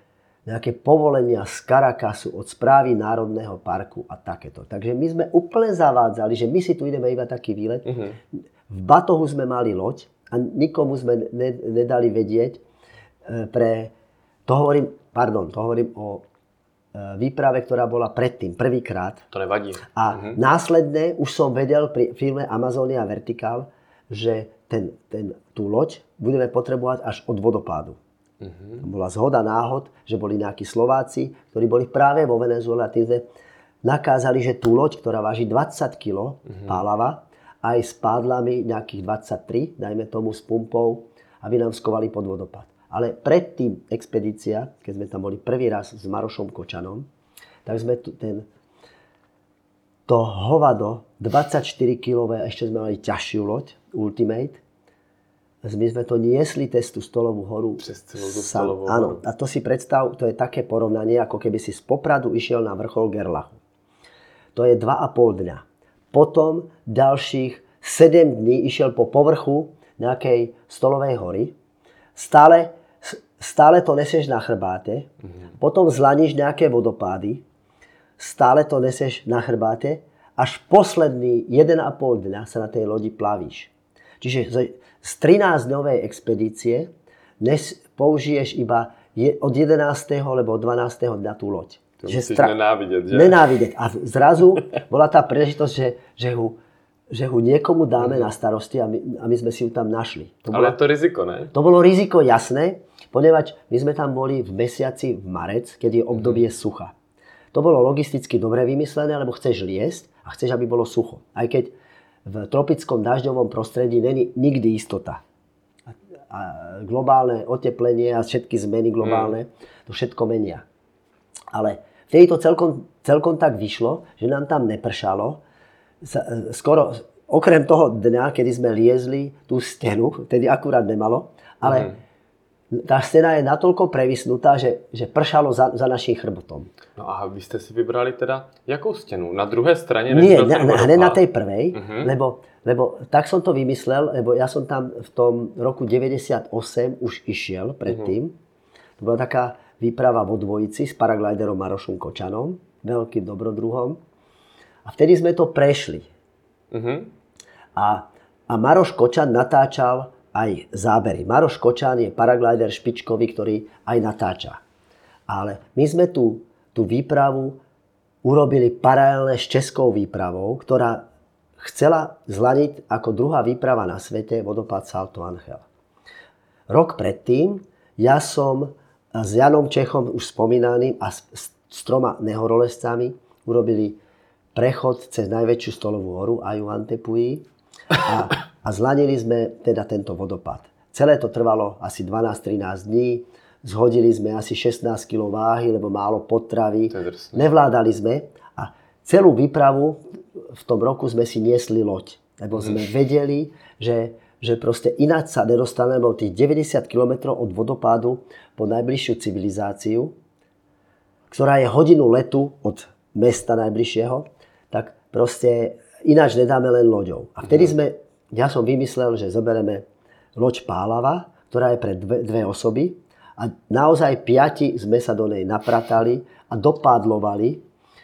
nejaké povolenia z Caracasu od správy Národného parku a takéto. Takže my sme úplne zavádzali, že my si tu ideme iba taký výlet. Uh-huh. V batohu sme mali loď a nikomu sme ne, nedali vedieť. Pre, to hovorím, pardon, to hovorím o výprave, ktorá bola predtým, prvýkrát. To nevadí. A uh-huh. následne už som vedel pri filme Amazonia Vertical, že ten, ten, tú loď budeme potrebovať až od vodopádu. Uh-huh. To bola zhoda náhod, že boli nejakí Slováci, ktorí boli práve vo Venezuele a tým sme nakázali, že tú loď, ktorá váži dvadsať kilogramov uh-huh. pálava, aj s pádlami nejakých dvadsaťtri, dajme tomu s pumpou, aby nám skovali pod vodopád. Ale predtým expedícia, keď sme tam boli prvý raz s Marošom Kočanom, tak sme tu ten, to hovado dvadsaťštyri kilogramov, ešte sme mali ťažšiu loď, Ultimate. My sme to niesli cez tú Stolovú horu. Přes celú tú Stolovú horu. Áno, a to si predstav, to je také porovnanie, ako keby si z Popradu išiel na vrchol Gerlachu. To je dva a pol dňa. Potom ďalších sedem dní išiel po povrchu nejakej Stolovej hory. Stále, stále to nesieš na chrbáte. Mhm. Potom zlaníš nejaké vodopády. Stále to nesieš na chrbáte. Až posledný jeden a pol dňa sa na tej lodi plavíš. Čiže z trinásťdňovej expedície dnes použiješ iba je, od jedenásteho alebo od dvanásteho dňa tú loď. To že musíš stra... nenávidieť, že? Nenávidieť. A zrazu bola tá príležitosť, že, že, ho, že ho niekomu dáme mm. na starosti a my, a my sme si ju tam našli. To Ale bola, je to riziko, ne? To bolo riziko, jasné, ponieważ my sme tam boli v mesiaci v marec, keď je obdobie mm. sucha. To bolo logisticky dobre vymyslené, lebo chceš liesť a chceš, aby bolo sucho. Aj keď v tropickom dažďovom prostredí není nikdy istota. A, a globálne oteplenie a všetky zmeny globálne, mm. to všetko menia. Ale vtedy to celkom, celkom tak vyšlo, že nám tam nepršalo. Skoro, okrem toho dňa, kedy sme liezli tú stenu, tedy akurát nemalo, ale mm. tá stena je natoľko previsnutá, že, že pršalo za, za naším chrbtom. No a vy ste si vybrali teda jakou stenu? Na druhé straně? Nie, na, na, na tej prvej, uh-huh. lebo, lebo tak som to vymyslel, lebo ja som tam v tom roku deväťdesiatosem už išiel predtým. Uh-huh. To bola taká výprava vo dvojici s paragliderom Marošom Kočanom, veľkým dobrodruhom. A vtedy sme to prešli. Uh-huh. A, a Maroš Kočan natáčal aj zábery. Maroš Kočan je paraglider špičkový, ktorý aj natáča. Ale my sme tú, tú výpravu urobili paralelne s českou výpravou, ktorá chcela zlaniť ako druhá výprava na svete vodopád Salto Ángel. Rok predtým ja som s Janom Čechom, už spomínaným, a s, s troma nehorolezcami urobili prechod cez najväčšiu Stolovú horu Ayuantepuy a A zlanili sme teda tento vodopád. Celé to trvalo asi dvanásť trinásť dní. Zhodili sme asi šestnásť kilogramov váhy, lebo málo potravy. Nevládali sme. A celú výpravu v tom roku sme si niesli loď. Lebo sme vedeli, že, že proste ináč sa nedostaneme o tých deväťdesiat kilometrov od vodopádu po najbližšiu civilizáciu, ktorá je hodinu letu od mesta najbližšieho, tak proste ináč nedáme len loďou. A vtedy sme Ja som vymyslel, že zoberieme loď Pálava, ktorá je pre dve, dve osoby a naozaj piati sme sa do nej napratali a dopádlovali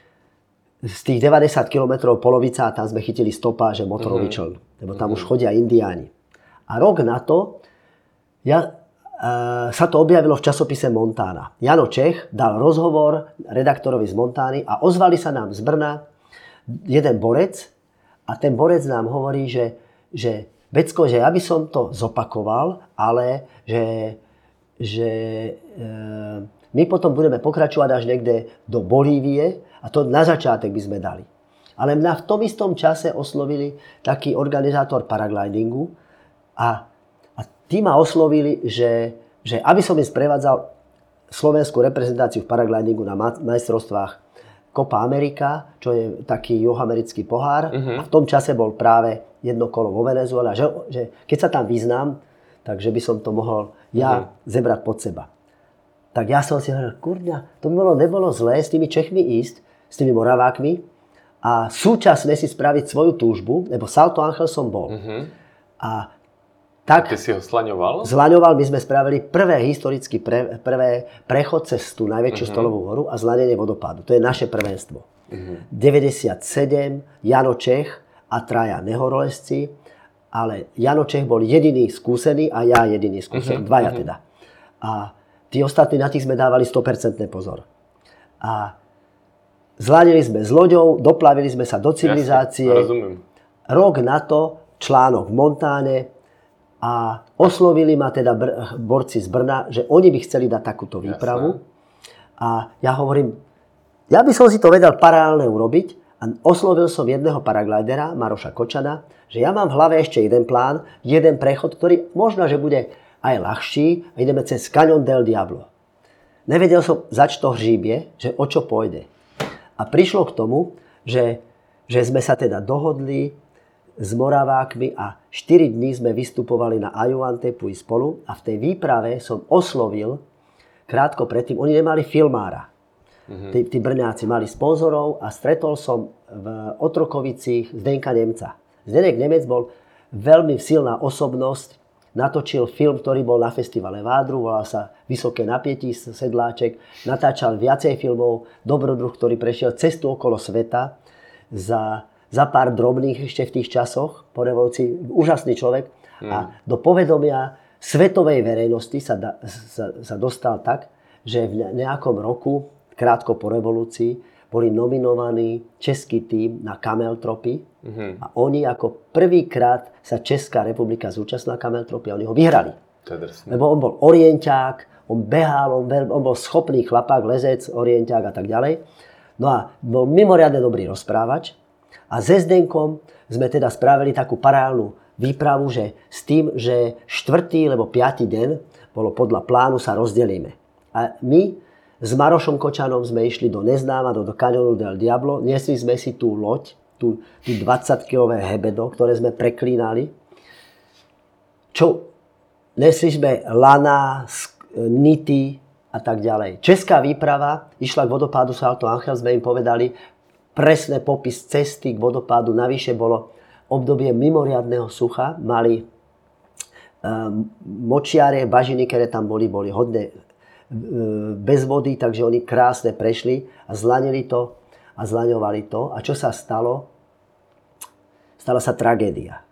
z tých deväťdesiat kilometrov polovica a tam sme chytili stopáže motorový mm-hmm. čln, lebo tam mm-hmm. už chodia indiáni. A rok na to ja, e, sa to objavilo v časopise Montana. Jano Čech dal rozhovor redaktorovi z Montány a ozvali sa nám z Brna jeden borec a ten borec nám hovorí, že že Becko, že ja by som to zopakoval, ale že, že e, my potom budeme pokračovať až niekde do Bolívie a to na začiatek by sme dali. Ale mňa v tom istom čase oslovili taký organizátor paraglidingu a, a tí ma oslovili, že, že aby som im sprevádzal slovenskú reprezentáciu v paraglidingu na majstrovstvách Copa America, čo je taký juhoamerický pohár. Uh-huh. A v tom čase bol práve jedno kolo vo Venezuele. Že, že keď sa tam vyznám, takže by som to mohol ja uh-huh. zebrať pod seba. Tak ja som si hovoril, kurňa, to by bolo, nebolo zlé s tými Čechmi ísť, s tými Moravákmi a súčasne si spraviť svoju túžbu, lebo Salto Ángel som bol. Uh-huh. A Tak, ty si ho slaňoval? Zlaňoval, my sme spravili prvé historicky pre, prvé prechod cez tú najväčšiu uh-huh. stolovú horu a zlanenie vodopádu. To je naše prvenstvo. Uh-huh. deväťdesiatsedem, Jano Čech a traja nehorolezci, ale Jano Čech bol jediný skúsený a ja jediný skúsený, uh-huh. dvaja uh-huh. teda. A tí ostatní, na tých sme dávali sto percent pozor. A zlanili sme s loďou, doplavili sme sa do civilizácie. Jasne, rozumiem. Rok na to článok v Montáne a oslovili ma teda br- borci z Brna, že oni by chceli dať takúto výpravu. Jasne. A ja hovorím, ja by som si to vedel paralelne urobiť a oslovil som jedného paraglidera, Maroša Kočana, že ja mám v hlave ešte jeden plán, jeden prechod, ktorý možno, že bude aj ľahší a ideme cez Cañón del Diablo. Nevedel som, zač to hříbie, že o čo pôjde. A prišlo k tomu, že, že sme sa teda dohodli s Moravákmi a štyri dní sme vystupovali na Ayuantepuy spolu a v tej výprave som oslovil krátko predtým, oni nemali filmára. Mm-hmm. Tí, tí Brňáci mali sponzorov a stretol som v Otrokovicích Zdenka Nemca. Zdenek Nemec bol veľmi silná osobnosť, natočil film, ktorý bol na festivale Vádru, volal sa Vysoké napätí, Sedláček, natáčal viacej filmov, Dobrodruh, ktorý prešiel cestu okolo sveta za, za pár drobných ešte v tých časoch, po revolúcii, úžasný človek. Mm. A do povedomia svetovej verejnosti sa, da, sa, sa dostal tak, že v nejakom roku, krátko po revolúcii, boli nominovaní český tím na kameltropy mm-hmm. a oni ako prvýkrát sa Česká republika zúčastnila kameltropy a oni ho vyhrali. Lebo on bol orienťák, on behal, on, on bol schopný chlapák, lezec, orienťák a tak ďalej. No a bol mimoriadne dobrý rozprávač a se Zdenkom sme teda spravili takú paralelnú výpravu, že s tým, že štvrtý alebo piatý deň bolo podľa plánu sa rozdelíme. A my s Marošom Kočanom sme išli do neznáma, do, do Cañónu del Diablo. Nesli sme si tú loď, tú, tú dvadsaťkilové hebedo, ktoré sme preklínali. Čo? Nesli sme lana, nity a tak ďalej. Česká výprava išla k vodopádu Salto Ángel, sme im povedali presný popis cesty k vodopádu. Navyše bolo obdobie mimoriadneho sucha. Mali um, močiare, bažiny, ktoré tam boli, boli hodne bez vody, takže oni krásne prešli a zlanili to a zlaňovali to. A čo sa stalo? Stala sa tragédia.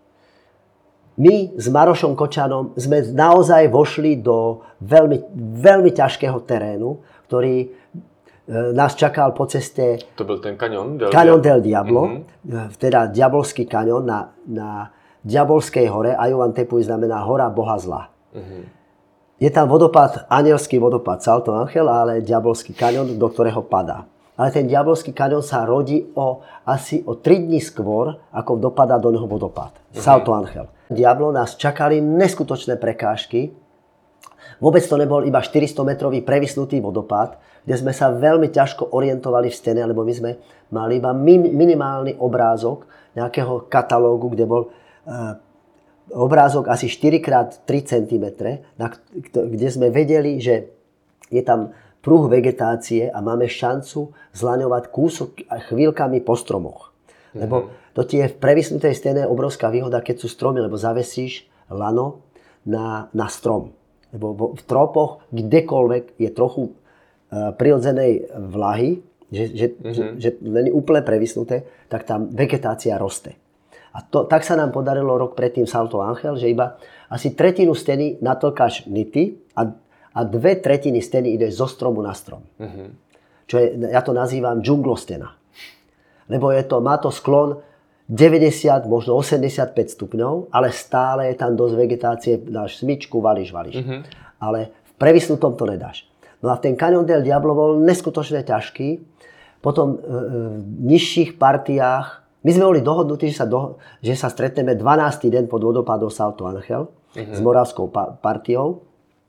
My s Marošom Kočanom sme naozaj vošli do veľmi, veľmi ťažkého terénu, ktorý nás čakal po ceste... To bol ten Cañón del, Cañón del Diablo, mm-hmm. teda Diabolský kaňón na, na Diabolskej hore. Ayuantepuy znamená hora Boha zla. Mm-hmm. Je tam vodopád, anielský vodopád Salto Ángel, ale Diabolský kaňón, do ktorého padá. Ale ten Diabolský kaňón sa rodí o, asi o tri dni skôr, ako dopadá do neho vodopád. Uh-huh. Salto Ángel. Diablo nás čakali neskutočné prekážky. Vôbec to nebol iba štyristometrový previsnutý vodopád, kde sme sa veľmi ťažko orientovali v stene, lebo my sme mali iba min, minimálny obrázok nejakého katalógu, kde bol... Uh, obrázok asi štyri krát tri centimetre, kde sme vedeli, že je tam pruh vegetácie a máme šancu zlaňovať kúsok chvíľkami po stromoch. Mm-hmm. Lebo to ti je v previsnutej stene obrovská výhoda, keď sú stromy, lebo zavesíš lano na, na strom. Lebo v tropoch kdekoľvek je trochu uh, prirodzenej vlahy, že, že, mm-hmm. že, že len úplne previsnuté, tak tam vegetácia roste. A to, tak sa nám podarilo rok predtým Salto Ángel, že iba asi tretinu steny natlkáš nity a, a dve tretiny steny ideš zo stromu na strom. Uh-huh. Čo je, ja to nazývam džunglostena. Lebo je to, má to sklon deväťdesiat, možno osemdesiatpäť stupňov, ale stále je tam dosť vegetácie, dáš smyčku, valíš, valíš. Uh-huh. Ale v previsnutom to nedáš. No a ten Cañón del Diablo bol neskutočne ťažký. Potom e, v nižších partiách my sme boli dohodnutí, že sa, do, že sa stretneme dvanásty deň pod vodopádom Salto Ángel uh-huh. s moravskou pa- partiou.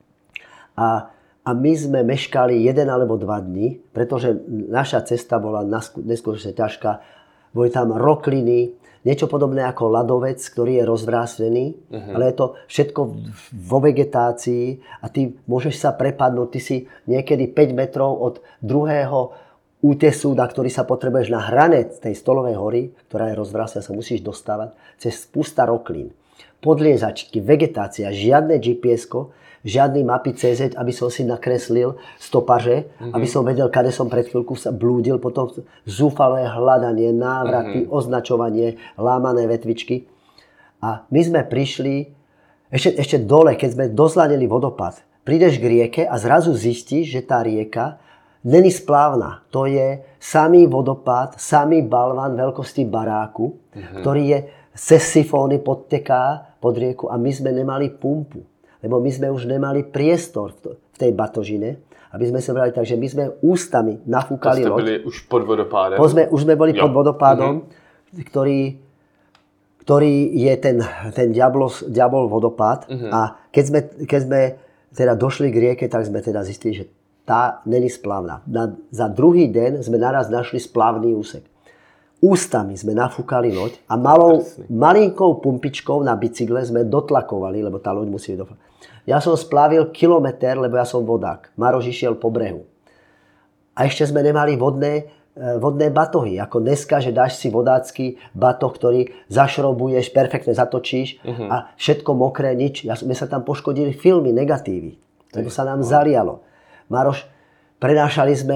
A, a my sme meškali jeden alebo dva dni, pretože naša cesta bola neskutočne ťažká. Boli tam rokliny, niečo podobné ako ľadovec, ktorý je rozvrástený, uh-huh. ale je to všetko vo vegetácii a ty môžeš sa prepadnúť. Ty si niekedy päť metrov od druhého útesu, na ktorý sa potrebuješ na hranec tej stolovej hory, ktorá je rozvrástená, sa musíš dostávať cez pusta roklín. podliezačky, vegetácia, žiadne G P S-ko, žiadny mapy cé zet, aby som si nakreslil stopaže, mm-hmm. aby som vedel, kade som pred chvíľku sa blúdil, potom zúfalé hľadanie, návraty, mm-hmm. označovanie, lámané vetvičky. A my sme prišli, ešte, ešte dole, keď sme dozlanili vodopád, prídeš k rieke a zrazu zistíš, že tá rieka není splávna. To je samý vodopád, samý balván veľkosti baráku, mm-hmm. ktorý je cez sifóny podteká pod rieku a my sme nemali pumpu. Lebo my sme už nemali priestor v tej batožine, aby sme sa brali tak, že my sme ústami nafúkali loď. To ste byli už pod vodopádem? Sme, už sme boli jo. pod vodopádom, mm-hmm. ktorý, ktorý je ten, ten diabol, diabol vodopád. Mm-hmm. A keď sme, keď sme teda došli k rieke, tak sme teda zistili, že tá není splavná. Na, za druhý deň sme naraz našli splavný úsek. Ústami sme nafúkali loď a malou, malinkou pumpičkou na bicykle sme dotlakovali, lebo tá loď musí dotlakovať. Ja som splavil kilometr, lebo ja som vodák. Maroš išiel po brehu. A ešte sme nemali vodné, vodné batohy. Ako dneska, že dáš si vodácky batoh, ktorý zašrobuješ, perfektne zatočíš uh-huh. a všetko mokré, nič. Ja, my sa tam poškodili filmy, negatívy. Lebo sa nám zalialo. Maroš, prenášali sme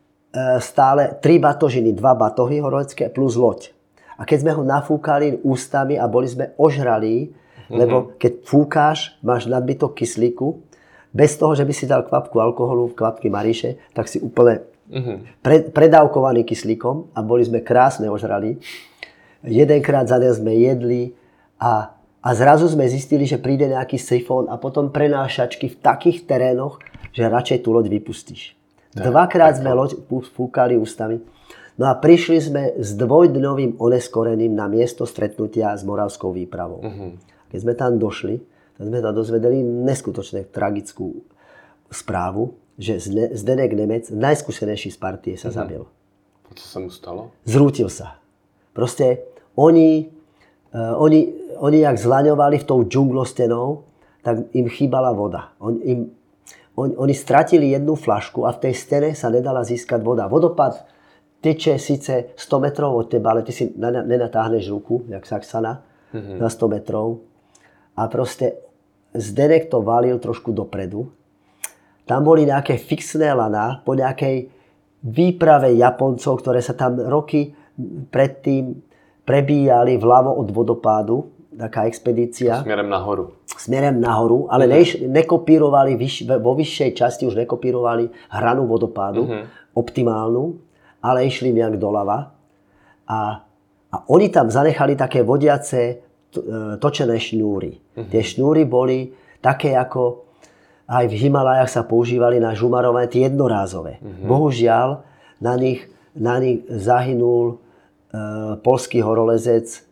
stále tri batožiny, dva batohy horolecké plus loď. A keď sme ho nafúkali ústami a boli sme ožralí, mm-hmm. lebo keď fúkáš, máš nadbytok kyslíku, bez toho, že by si dal kvapku alkoholu, kvapky Maríše, tak si úplne mm-hmm. pre, predávkovaný kyslíkom a boli sme krásne ožralí. Jedenkrát za deň sme jedli a, a zrazu sme zistili, že príde nejaký sifón a potom prenášačky v takých terénoch, že radšej tú loď vypustíš. Dvakrát sme loď fúkali ústami. No a prišli sme s dvojdňovým oneskorením na miesto stretnutia s Moravskou výpravou. Uh-huh. Keď sme tam došli, tak sme tam dozvedeli neskutočne tragickú správu, že Zdeněk Nemec, najskúsenejší z partie, sa uh-huh. zabil. A co sa mu stalo? Zrútil sa. Proste oni, uh, oni, oni jak zlaňovali v tou džunglostenou, tak im chýbala voda. On, im, On, oni stratili jednu flašku a v tej stene sa nedala získať voda. Vodopád teče síce sto metrov od teba, ale ty si nenatáhneš ruku, jak Saxana, mm-hmm. na sto metrov. A proste Zdeněk to valil trošku dopredu. Tam boli nejaké fixné laná po nejakej výprave Japoncov, ktoré sa tam roky predtým prebíjali vľavo od vodopádu. Taká expedícia. Smerem nahoru. Smerem nahoru, ale uh-huh. nekopírovali, vyš, vo vyššej časti už nekopírovali hranu vodopádu, uh-huh. optimálnu, ale išli nejak doľava. A, a oni tam zanechali také vodiace točené šňúry. Uh-huh. Tie šňúry boli také, ako aj v Himalajach sa používali na žumarové, tie jednorázové. Uh-huh. Bohužiaľ, na nich, na nich zahynul uh, poľský horolezec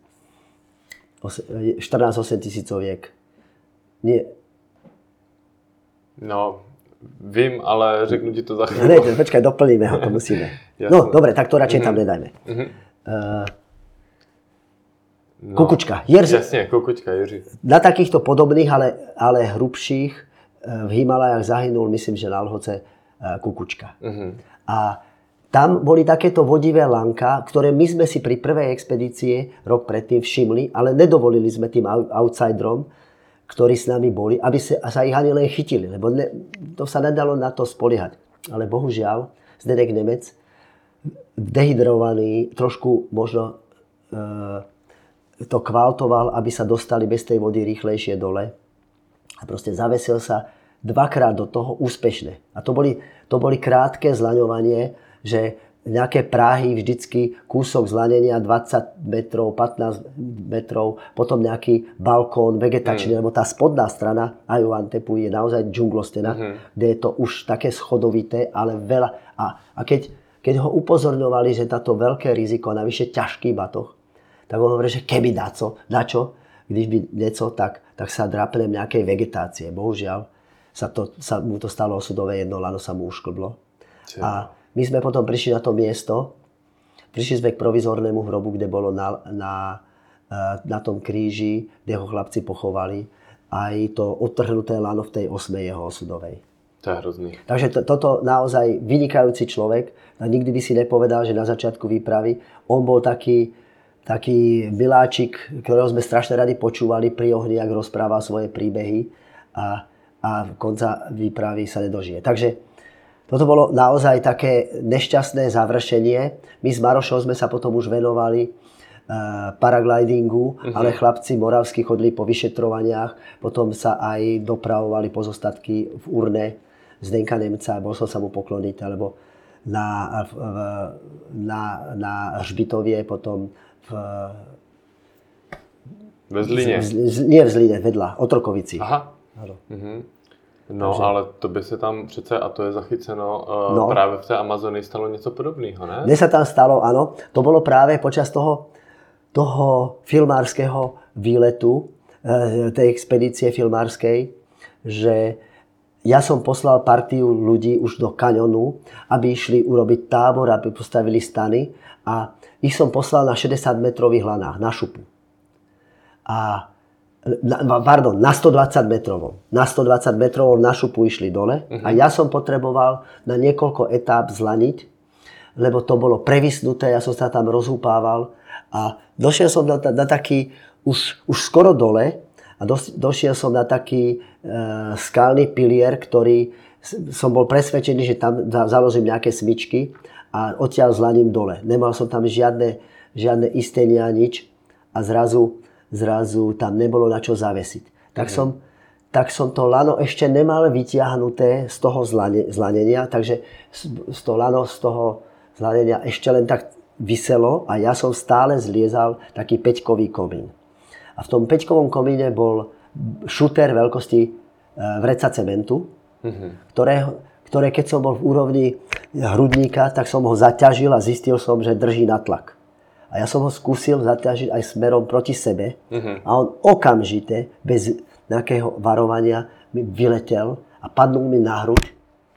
štrnásť osem tisícoviek. Nie. No, vím, ale řeknu ti to za chvíľu. Ne, počkaj, doplníme ho, to musíme. No, dobre, tak to radšej mm-hmm. tam nedajme. Mm-hmm. Uh, no, Kukučka. Jerži. Jasne, Kukučka, Jerži. Na takýchto podobných, ale, ale hrubších v Himalajach zahynul, myslím, že na Lhoce Kukučka. Mm-hmm. A tam boli takéto vodivé lanka, ktoré my sme si pri prvej expedície rok predtým všimli, ale nedovolili sme tým outsiderom, ktorí s nami boli, aby sa, sa ich ani len chytili, lebo ne, to sa nedalo na to spoliehať. Ale bohužiaľ, Zdeněk Nemec, dehydrovaný, trošku možno e, to kvaltoval, aby sa dostali bez tej vody rýchlejšie dole. A proste zavesil sa dvakrát do toho úspešne. A to boli, to boli krátke zlaňovanie, že nejaké práhy, vždycky kúsok zlanenia dvadsať metrov, pätnásť metrov, potom nejaký balkón vegetačný, mm. lebo tá spodná strana Ayuantepu je naozaj džunglostená, mm-hmm. kde je to už také schodovité, ale veľa. A, a keď, keď ho upozorňovali, že táto veľké riziko, navyše ťažký batoh, tak on hovorí, že keby daco, dačo, když by nieco, tak, tak sa drapnem nejakej vegetácie. Bohužiaľ sa, to, sa mu to stalo osudové, jedno lano sa mu ušklblo. Čiže. A my sme potom prišli na to miesto, prišli sme k provizornému hrobu, kde bolo na, na, na tom kríži, kde ho chlapci pochovali, aj to odtrhnuté lano v tej osme jeho osudovej. To je hrozný. Takže to, toto naozaj vynikajúci človek, a nikdy by si nepovedal, že na začiatku výpravy on bol taký, taký miláčik, ktorého sme strašne radi počúvali pri ohni, ak rozprával svoje príbehy a, a konca výpravy sa nedožije. Takže toto bolo naozaj také nešťastné završenie. My s Marošom sme sa potom už venovali uh, paraglidingu, uh-huh. ale chlapci moravskí chodili po vyšetrovaniach, potom sa aj dopravovali pozostatky v urne Zdenka Nemca, bol som sa mu pokloniť, alebo na, v, na, na Hřbitovie, potom v... Ve Zlíně? Z, z, nie v Zlíně, vedľa, Otrokovici. Aha. Ano. Mhm. No, Takže... ale to by se tam přece, a to je zachyceno, uh, no. právě v té Amazonii stalo něco podobného, ne? Mne sa tam stalo, áno. To bolo práve počas toho, toho filmárskeho výletu, tej expedície filmárskej, že ja som poslal partiu ľudí už do kaňonu, aby išli urobiť tábor, aby postavili stany a ich som poslal na šesťdesiatmetrových lanách, na šupu. A Na, pardon, na stodvadsať metrovom. Na stodvadsať metrovom na šupu išli dole uh-huh. a ja som potreboval na niekoľko etáp zlaniť, lebo to bolo previsnuté, ja som sa tam rozhúpával a došiel som na, na taký, už, už skoro dole a dos, došiel som na taký e, skalný pilier, ktorý som bol presvedčený, že tam založím nejaké smyčky a odtiaľ zlaním dole. Nemal som tam žiadne, žiadne istenia, nič a zrazu zrazu tam nebolo na čo zavesiť. Tak, mm. som, tak som to lano ešte nemal vytiahnuté z toho zlane, zlanenia, takže z toho lano z toho zlanenia ešte len tak viselo a ja som stále zliezal taký päťkový komín. A v tom päťkovom komíne bol šuter veľkosti vreca cementu, mm-hmm. ktoré, ktoré keď som bol v úrovni hrudníka, tak som ho zaťažil a zistil som, že drží na tlak. A ja som ho skúsil zaťažiť aj smerom proti sebe uh-huh. a on okamžite, bez nejakého varovania, mi vyletel a padnul mi na hruď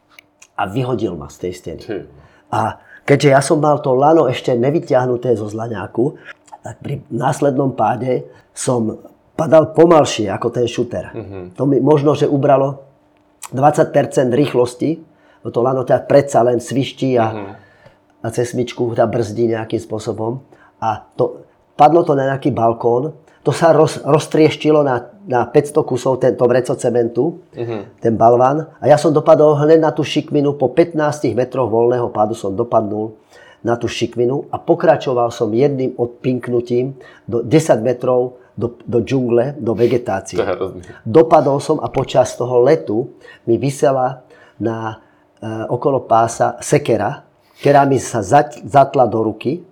a vyhodil ma z tej steny. Uh-huh. A keďže ja som mal to lano ešte nevyťahnuté zo zlaňáku, tak pri následnom páde som padal pomalšie ako ten šuter. Uh-huh. To mi možno, že ubralo dvadsať percent rýchlosti, bo to lano teda predsa len sviští a, uh-huh. a cez smyčku tá brzdí nejakým spôsobom. A to, padlo to na nejaký balkón, to sa roz, roztrieštilo na, na päťsto kusov tento vreco cementu, uh-huh. ten balván. A ja som dopadol hneď na tú šikminu, po pätnástich metroch voľného pádu som dopadnul na tú šikminu a pokračoval som jedným odpinknutím do desať metrov do, do džungle, do vegetácie. Dopadol som a počas toho letu mi visela na, e, okolo pása sekera, ktorá mi sa zat, zatla do ruky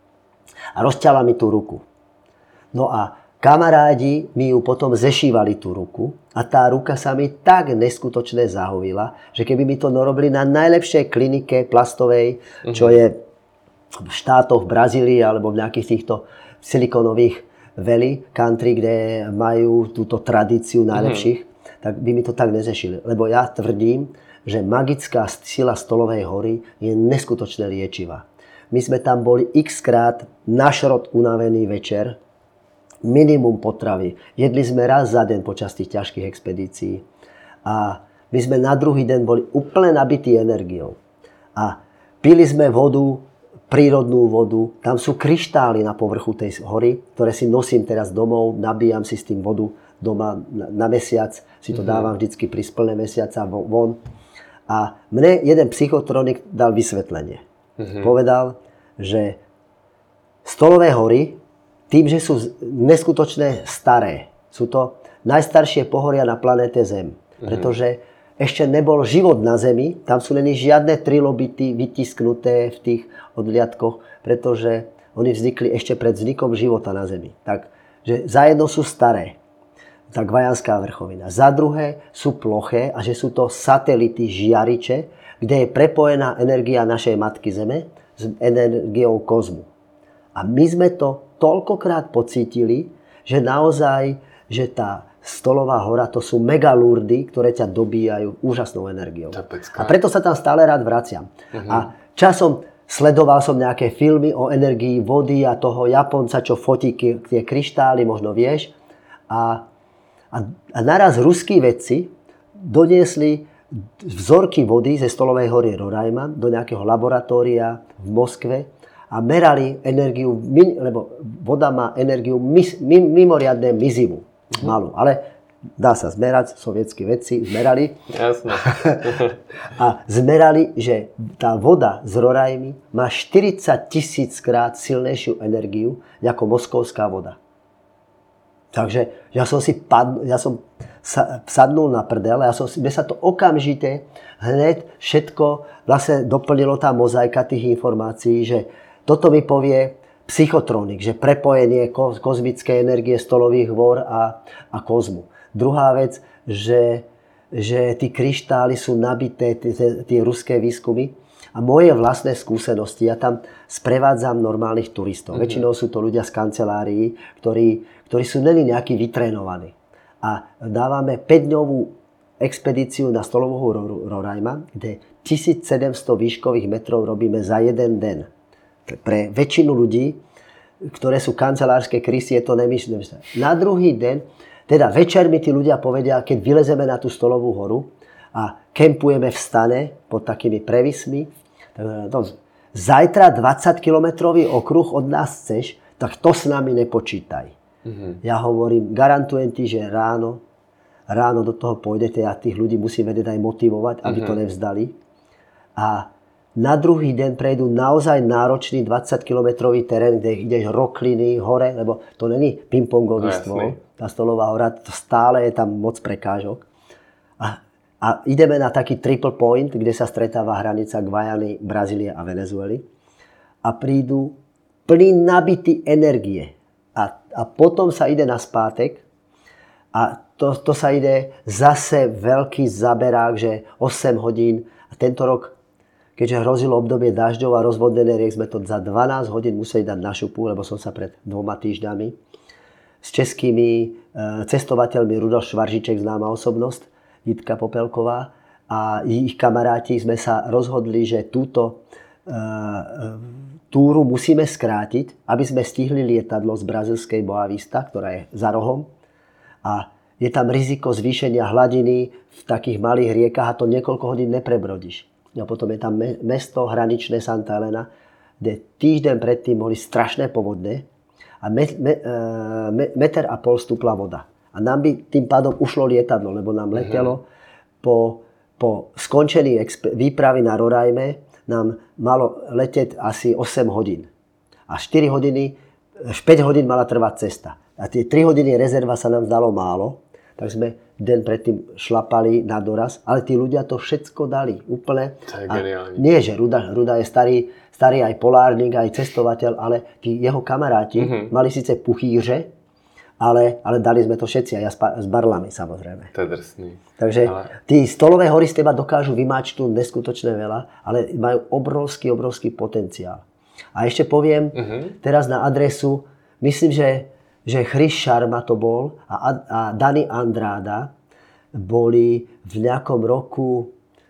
a rozťala mi tú ruku. No a kamarádi mi ju potom zešívali tú ruku a tá ruka sa mi tak neskutočne zahovila, že keby mi to narobili na najlepšej klinike plastovej, čo je v štátoch, v Brazílii alebo v nejakých týchto silikonových valley country, kde majú túto tradíciu najlepších, mm-hmm. tak by mi to tak nezešili. Lebo ja tvrdím, že magická sila Stolovej hory je neskutočne liečivá. My sme tam boli x krát na šrot unavený večer, minimum potravy. Jedli sme raz za deň počas tých ťažkých expedícií. A my sme na druhý deň boli úplne nabití energiou. A pili sme vodu, prírodnú vodu. Tam sú kryštály na povrchu tej hory, ktoré si nosím teraz domov, nabíjam si s tým vodu doma na, na mesiac. Si to mm-hmm. dávam vždycky pri splné mesiaca von. A mne jeden psychotronik dal vysvetlenie. Mm-hmm. Povedal, že Stolové hory, tým, že sú neskutočne staré, sú to najstaršie pohoria na planéte Zem. Mm-hmm. Pretože ešte nebol život na Zemi, tam sú len žiadne trilobity vytisknuté v tých odliadkoch, pretože oni vznikli ešte pred vznikom života na Zemi. Takže za jedno sú staré, tá Gvajanská vrchovina. Za druhé sú ploché a že sú to satelity, žiariče, kde je prepojená energia našej Matky Zeme s energiou kozmu. A my sme to toľkokrát pocítili, že naozaj, že tá Stolová hora, to sú megalurdy, ktoré ťa dobíjajú úžasnou energiou. A preto sa tam stále rád vraciam. Uh-huh. A časom sledoval som nejaké filmy o energii vody a toho Japonca, čo fotí tie kryštály, možno vieš. A, a, a naraz ruskí vedci doniesli vzorky vody ze Stolovej hory Roraima do nejakého laboratória v Moskve a a merali energiu, lebo voda má energiu mimoriadne mizivú, uh-huh. malú, ale dá sa zmerať, sovietskí vedci zmerali. Jasné. A zmerali, že tá voda z Rorajmy má štyridsať tisíc krát silnejšiu energiu ako moskovská voda. Takže ja som si padl, ja som sa, sadnul na prdel, ja som si, mne sa to okamžite hneď všetko vlastne doplnilo tá mozaika tých informácií, že toto mi povie psychotronik, že prepojenie ko, kozmickej energie stolových hôr a, a kozmu. Druhá vec, že, že tí kryštály sú nabité, tie ruské výskumy. A moje vlastné skúsenosti, ja tam sprevádzam normálnych turistov. Mm-hmm. Väčšinou sú to ľudia z kancelárií, ktorí, ktorí sú neni nejakí vytrénovaní. A dávame päťdňovú expedíciu na stolovú Rorajma, kde tisícsedemsto výškových metrov robíme za jeden deň. Pre väčšinu ľudí, ktoré sú kancelárske krysy, je to nemyslné. Na druhý deň, teda večer mi tí ľudia povedia, keď vylezeme na tú stolovú horu a kempujeme v stane pod takými prevismi, zajtra dvadsaťkilometrový okruh od nás chceš, tak to s nami nepočítaj. Mm-hmm. Ja hovorím, garantujem ti, že ráno, ráno do toho pôjdete a tých ľudí musím vedieť aj motivovať, aby mm-hmm. to nevzdali. A na druhý deň prejdú naozaj náročný dvadsaťkilometrový terén, kde ideš rokliny, hore, lebo to není pingpongový no, stôl. Tá stolová hora, to stále je tam moc prekážok. A A ideme na taký triple point, kde sa stretáva hranica Guajany, Brazílie a Venezuely. A prídu plný nabitý energie. A, a potom sa ide na spátek. A to, to sa ide zase veľký zaberák, že osem hodín. A tento rok, keďže hrozilo obdobie dažďov a rozvodnené riek, sme to za dvanásť hodín museli dať na šupu, lebo som sa pred dvoma týždňami s českými e, cestovateľmi, Rudolf Švaržiček, známa osobnosť, Jitka Popelková a ich kamaráti sme sa rozhodli, že túto e, túru musíme skrátiť, aby sme stihli lietadlo z brazílskej Boa Vista, ktorá je za rohom. A je tam riziko zvýšenia hladiny v takých malých riekach a to niekoľko hodín neprebrodíš. A potom je tam mesto hraničné Santa Elena, kde týždeň predtým boli strašné povodne a me, me, me, meter a pol stúpla voda. A nám by tým pádom ušlo lietadlo, lebo nám letelo mm-hmm. po, po skončení exp- výpravy na Rorajme nám malo letieť asi osem hodín. A štyri hodiny, päť hodín mala trvať cesta. A tie tri hodiny rezerva sa nám zdalo málo, tak sme deň predtým šlapali na doraz, ale tí ľudia to všetko dali úplne. To je geniálne. Nie, že Ruda, Ruda je starý, starý aj polárnik, aj cestovateľ, ale tí jeho kamaráti mm-hmm. mali síce puchýře, Ale, ale dali sme to všetci, aj ja s barlami samozrejme. To je drsný. Takže ale... tí stolové hory z teba dokážu vymáčknúť neskutočné veľa, ale majú obrovský, obrovský potenciál. A ešte poviem uh-huh. teraz na adresu, myslím, že, že Chris Sharma to bol a, a Dani Andrada boli v nejakom roku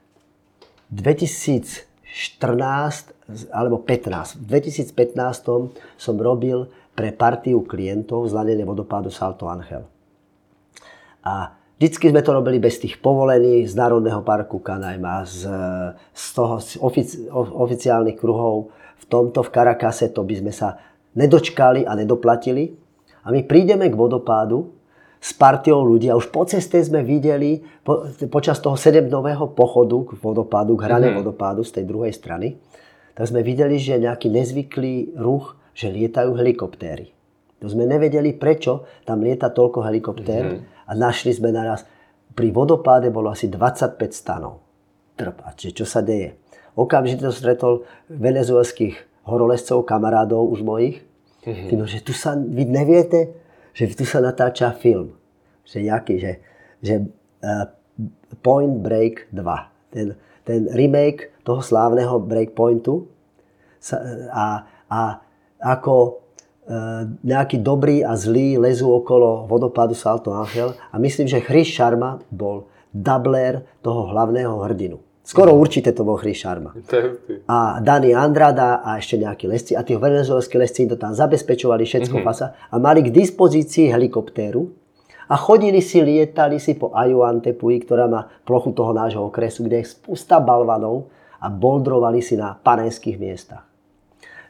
dvetisícštrnásť alebo pätnásť. V dvetisícpätnásť som robil pre partiu klientov zladené vodopádu Salto Ángel. A vždycky sme to robili bez tých povolení z Národného parku Canaima, z, z toho z ofici, oficiálnych kruhov. V tomto, v Caracase, to by sme sa nedočkali a nedoplatili. A my prídeme k vodopádu s partiou ľudí a už po ceste sme videli, po, počas toho sedemdňového pochodu k vodopádu, k hrane mm-hmm. vodopádu z tej druhej strany, tak sme videli, že nejaký nezvyklý ruch, že lietajú helikoptéry. To sme nevedeli, prečo tam lieta toľko helikoptér mm-hmm. a našli sme naraz, pri vodopáde bolo asi dvadsaťpäť stanov. Trp, a či, čo sa deje? Okamžite to stretol venezuelských horolezcov, kamarádov už mojich. Mm-hmm. Tým, že tu sa, vy neviete, že tu sa natáča film. Že jaký, že, že uh, Point Break dva. Ten, ten remake toho slávneho Breakpointu sa, a, a ako e, nejaký dobrý a zlý lezú okolo vodopádu Salto Ángel a myslím, že Chris Sharma bol dubler toho hlavného hrdinu. Skoro určite to bol Chris Sharma. A Dani Andrada a ešte nejakí lesci a tí venezuelskí lesci to tam zabezpečovali všetko mm-hmm. pasa a mali k dispozícii helikoptéru a chodili si, lietali si po Ayuantepui, ktorá má plochu toho nášho okresu, kde je spústa balvanov a boldrovali si na panenských miestach.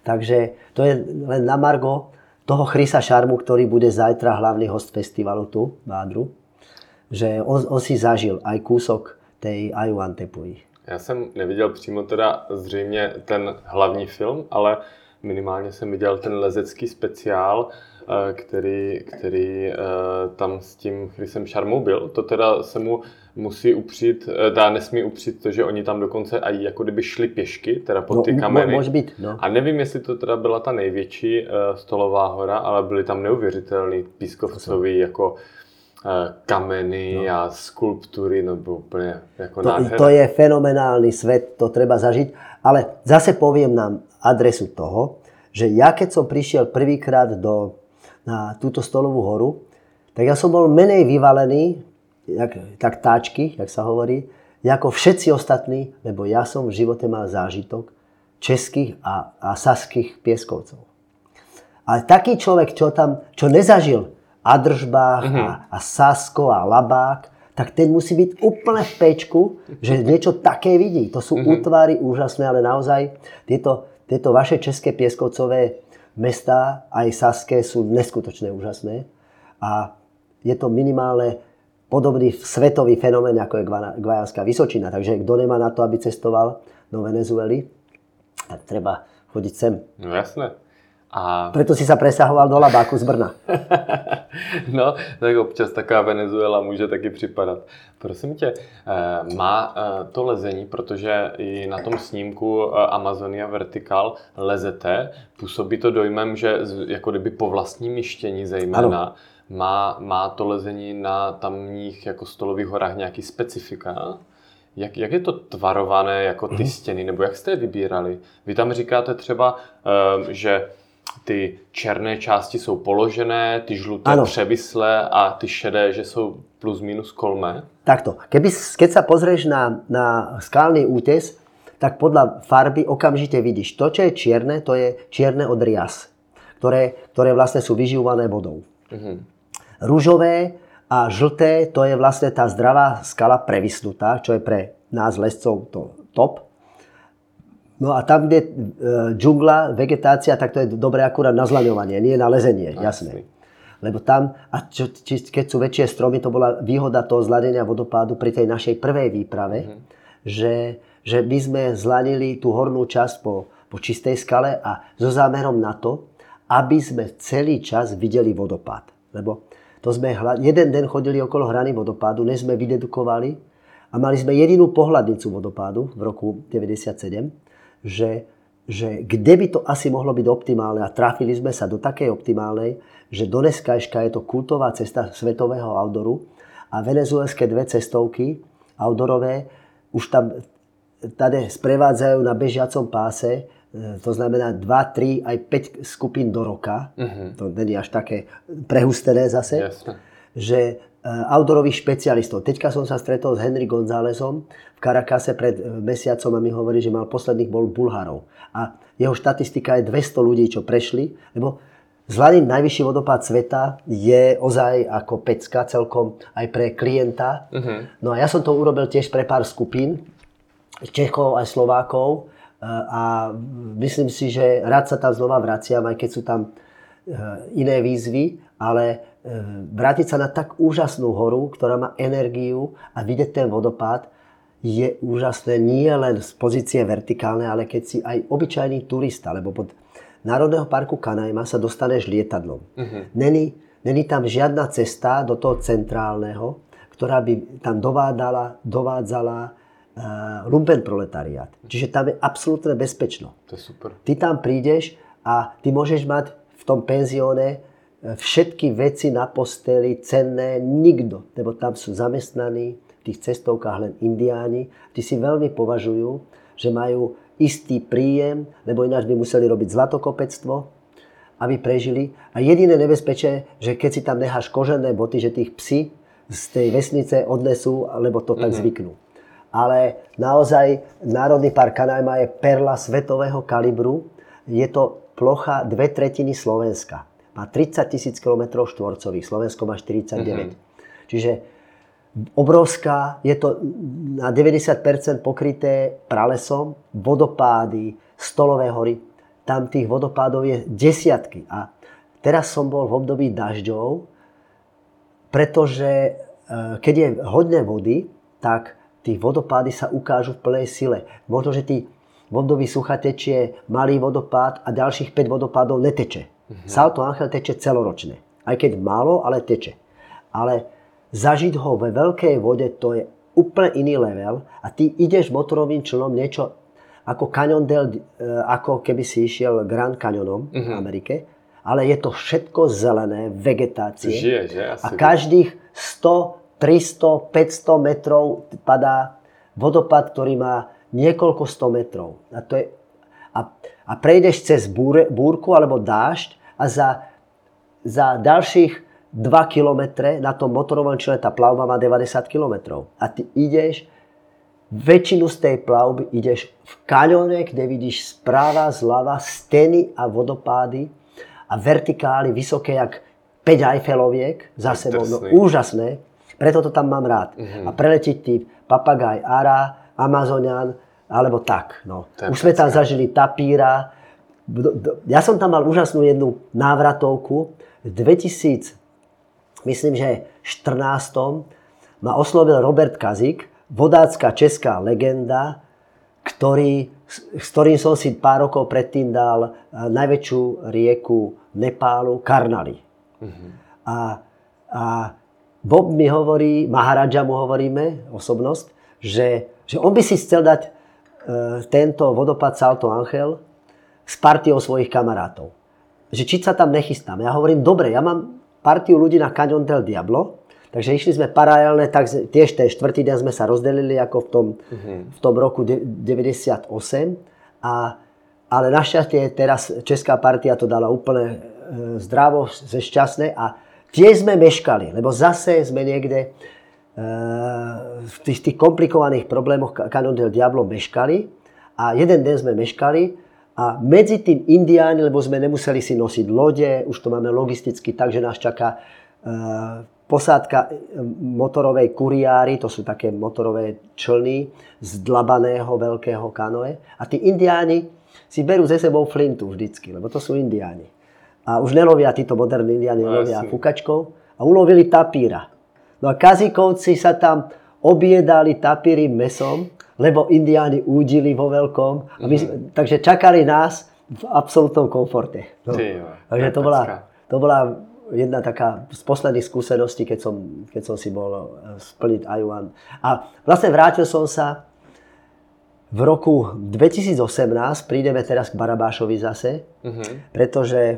Takže to je len na margo toho Chrisa Šarmu, ktorý bude zajtra hlavný host festivalu tu v Ádru, že on, on si zažil aj kúsok tej Aiwantepuji. Já jsem neviděl přímo teda zřejmě ten hlavní film, ale minimálně jsem viděl ten lezecký speciál, který, který tam s tím Chrisem Šarmou byl. To teda se mu musí upřít, dá nesmí upřít to, že oni tam dokonce aj jako kdyby šli pěšky, teda pod ty no, kameny. Může být, no. A nevím, jestli to teda byla ta největší stolová hora, ale byly tam neuvěřitelný pískovcový jako kameny no. a skulptury, no bylo úplně jako to, nádherné. To je fenomenálny svet, to treba zažiť. Ale zase poviem nám adresu toho, že ja keď som prišiel prvýkrát do, na túto stolovú horu, tak ja som bol menej vyvalený, jak, tak táčky, jak sa hovorí, ako všetci ostatní, lebo ja som v živote mal zážitok českých a, a saských pieskovcov. Ale taký človek, čo tam, čo nezažil Adržbách mm-hmm. a, a Sasko a Labák, tak ten musí byť úplne v pečku, že niečo také vidí. To sú mm-hmm. útvary úžasné, ale naozaj tieto, tieto vaše české pieskovcové mestá, aj saské, sú neskutočne úžasné. A je to minimálne podobný svetový fenomén, ako je Guajanská Vysočina. Takže kto nemá na to, aby cestoval do Venezuely, tak treba chodiť sem. No jasné. A... Preto si sa presahoval do Labáku z Brna. No, tak občas taková Venezuela může taky připadat. Prosím tě, má to lezení, protože i na tom snímku Amazonia Vertical lezete, působí to dojmem, že jako kdyby po vlastním myštění zejména, má, má to lezení na tamních jako stolových horách nějaký specifika? Jak, jak je to tvarované jako ty stěny, nebo jak jste je vybírali? Vy tam říkáte třeba, že ty černé části jsou položené, ty žluté ano. převislé a ty šedé, že jsou plus minus kolmé? Takto. Keby, keď sa pozrieš na, na skalný útes, tak podľa farby okamžite vidíš. To, čo je čierne, to je čierne od rias, ktoré, ktoré vlastne sú vyživované vodou. Mhm. Rúžové a žlté, to je vlastne tá zdravá skala previsnutá, čo je pre nás lescov to top. No a tam, kde e, džungla, vegetácia, tak to je dobré akurát na zlaňovanie, nie na lezenie, jasné. Lebo tam, a čo, či, keď sú väčšie stromy, to bola výhoda toho zlanenia vodopádu pri tej našej prvej výprave, mm. že, že my sme zlanili tú hornú časť po, po čistej skale a so zámerom na to, aby sme celý čas videli vodopád. Lebo to sme hla, jeden deň chodili okolo hrany vodopádu, než sme vydedukovali a mali sme jedinú pohľadnicu vodopádu v roku deväťdesiatsedem, že, že kde by to asi mohlo byť optimálne a trafili sme sa do takej optimálnej, že do dneskajška je to kultová cesta svetového outdooru a venezuelské dve cestovky outdoorové už tam tady sprevádzajú na bežiacom páse, to znamená dva, tri, aj päť skupín do roka. Uh-huh. To není až také prehustené zase. Jasne. Že outdoorových špecialistov. Teďka som sa stretol s Henry Gonzálezom v Caracase pred mesiacom a mi hovorí, že mal posledných bol Bulharov. A jeho štatistika je dvesto ľudí, čo prešli, lebo zlaniť najvyšší vodopád sveta je ozaj ako pecka celkom aj pre klienta. Uh-huh. No a ja som to urobil tiež pre pár skupín, Čechov aj Slovákov a myslím si, že rád sa tam znova vraciam, aj keď sú tam iné výzvy, ale vrátiť sa na tak úžasnú horu, ktorá má energiu a vidieť ten vodopád je úžasné nie len z pozície vertikálnej, ale keď si aj obyčajný turista, lebo pod Národného parku Canaima sa dostaneš lietadlom. Uh-huh. Není, není tam žiadna cesta do toho centrálneho, ktorá by tam dovádzala, dovádzala uh, lumpen proletariát. Čiže tam je absolútne bezpečno. To je super. Ty tam prídeš a ty môžeš mať v tom penzióne všetky veci na posteli, cenné, nikto, lebo tam sú zamestnaní v tých cestovkách len indiáni. Tí si veľmi považujú, že majú istý príjem, lebo ináč by museli robiť zlatokopectvo, aby prežili. A jediné nebezpečie, že keď si tam necháš kožené boty, že tých psi z tej vesnice odnesú, lebo to tak mm-hmm. zvyknú. Ale naozaj Národný park Canaima je perla svetového kalibru. Je to plocha dve tretiny Slovenska. Má tridsať tisíc kilometrov štvorcových, Slovensko má štyridsaťdeväť. Mm-hmm. Čiže obrovská, je to na deväťdesiat percent pokryté pralesom, vodopády, stolové hory. tam tých vodopádov je desiatky. A teraz som bol v období dažďov, pretože keď je hodne vody, tak tí vodopády sa ukážu v plnej sile. Možno, že tí v období sucha tečie malý vodopád a ďalších päť vodopádov neteče. Mm-hmm. Salto Ángel teče celoročne. Aj keď málo, ale teče. Ale zažiť ho ve veľkej vode, to je úplne iný level. A ty ideš motorovým člnom niečo ako Canyon del, ako keby si išiel Grand Canyonom mm-hmm. v Amerike. Ale je to všetko zelené, vegetácie. Žije, že? Asi a každých sto, tristo, päťsto metrov padá vodopád, ktorý má niekoľko sto metrov. A, to je, a, a prejdeš cez búr, búrku alebo dážď a za, za ďalších dva kilometre na tom motorovom člne tá plavba má deväťdesiat kilometrov. A ty ideš, väčšinu z tej plavby ideš v kaňone, kde vidíš správa, zľava, steny a vodopády a vertikály vysoké jak päť Eiffeloviek za sebou. No, úžasné. Preto to tam mám rád. Mm-hmm. A preletiť tí papagaj Ara, Amazonian, alebo tak. No. Už sme tam zažili tapíra. Ja som tam mal úžasnú jednu návratovku. V dvetisíc, myslím, že štrnástom ma oslovil Robert Kazik, vodácka česká legenda, ktorý, s ktorým som si pár rokov predtým dal najväčšiu rieku Nepálu, Karnali. Mm-hmm. A, a Bob mi hovorí, Maharadža mu hovoríme, osobnosť, že, že on by si chcel dať e, tento vodopád Salto Ángel s partiou svojich kamarátov. Že či sa tam nechystám. Ja hovorím, dobre, ja mám partiu ľudí na Canyon del Diablo, takže išli sme paralelne, tak tiež ten štvrtý deň sme sa rozdelili ako v tom, mm-hmm. v tom roku deväťdesiatosem. A, ale našťastie teraz česká partia to dala úplne e, zdravo, ze šťastné a tiež sme meškali, lebo zase sme niekde e, v tých, tých komplikovaných problémoch Canyon del Diablo meškali a jeden deň sme meškali a medzi tým Indiáni, lebo sme nemuseli si nosiť lode, už to máme logisticky tak, že nás čaká e, posádka motorovej kuriári, to sú také motorové člny z dlabaného veľkého kanoe a tí Indiáni si berú ze sebou flintu vždycky, lebo to sú Indiáni. A už nelovia títo moderní Indiáni, no, lovia fukačkou a ulovili tapíra. No a Kazíkovci sa tam objedali tapírym mesom, lebo Indiáni údili vo veľkom. A my, mm-hmm. Takže čakali nás v absolútnom komforte. No. Takže to bola, to bola jedna taká z posledných skúseností, keď som, keď som si bol splniť Ajuan. A vlastne vrátil som sa v roku dvetisícosemnásť, prídeme teraz k Barabášovi zase, mm-hmm. pretože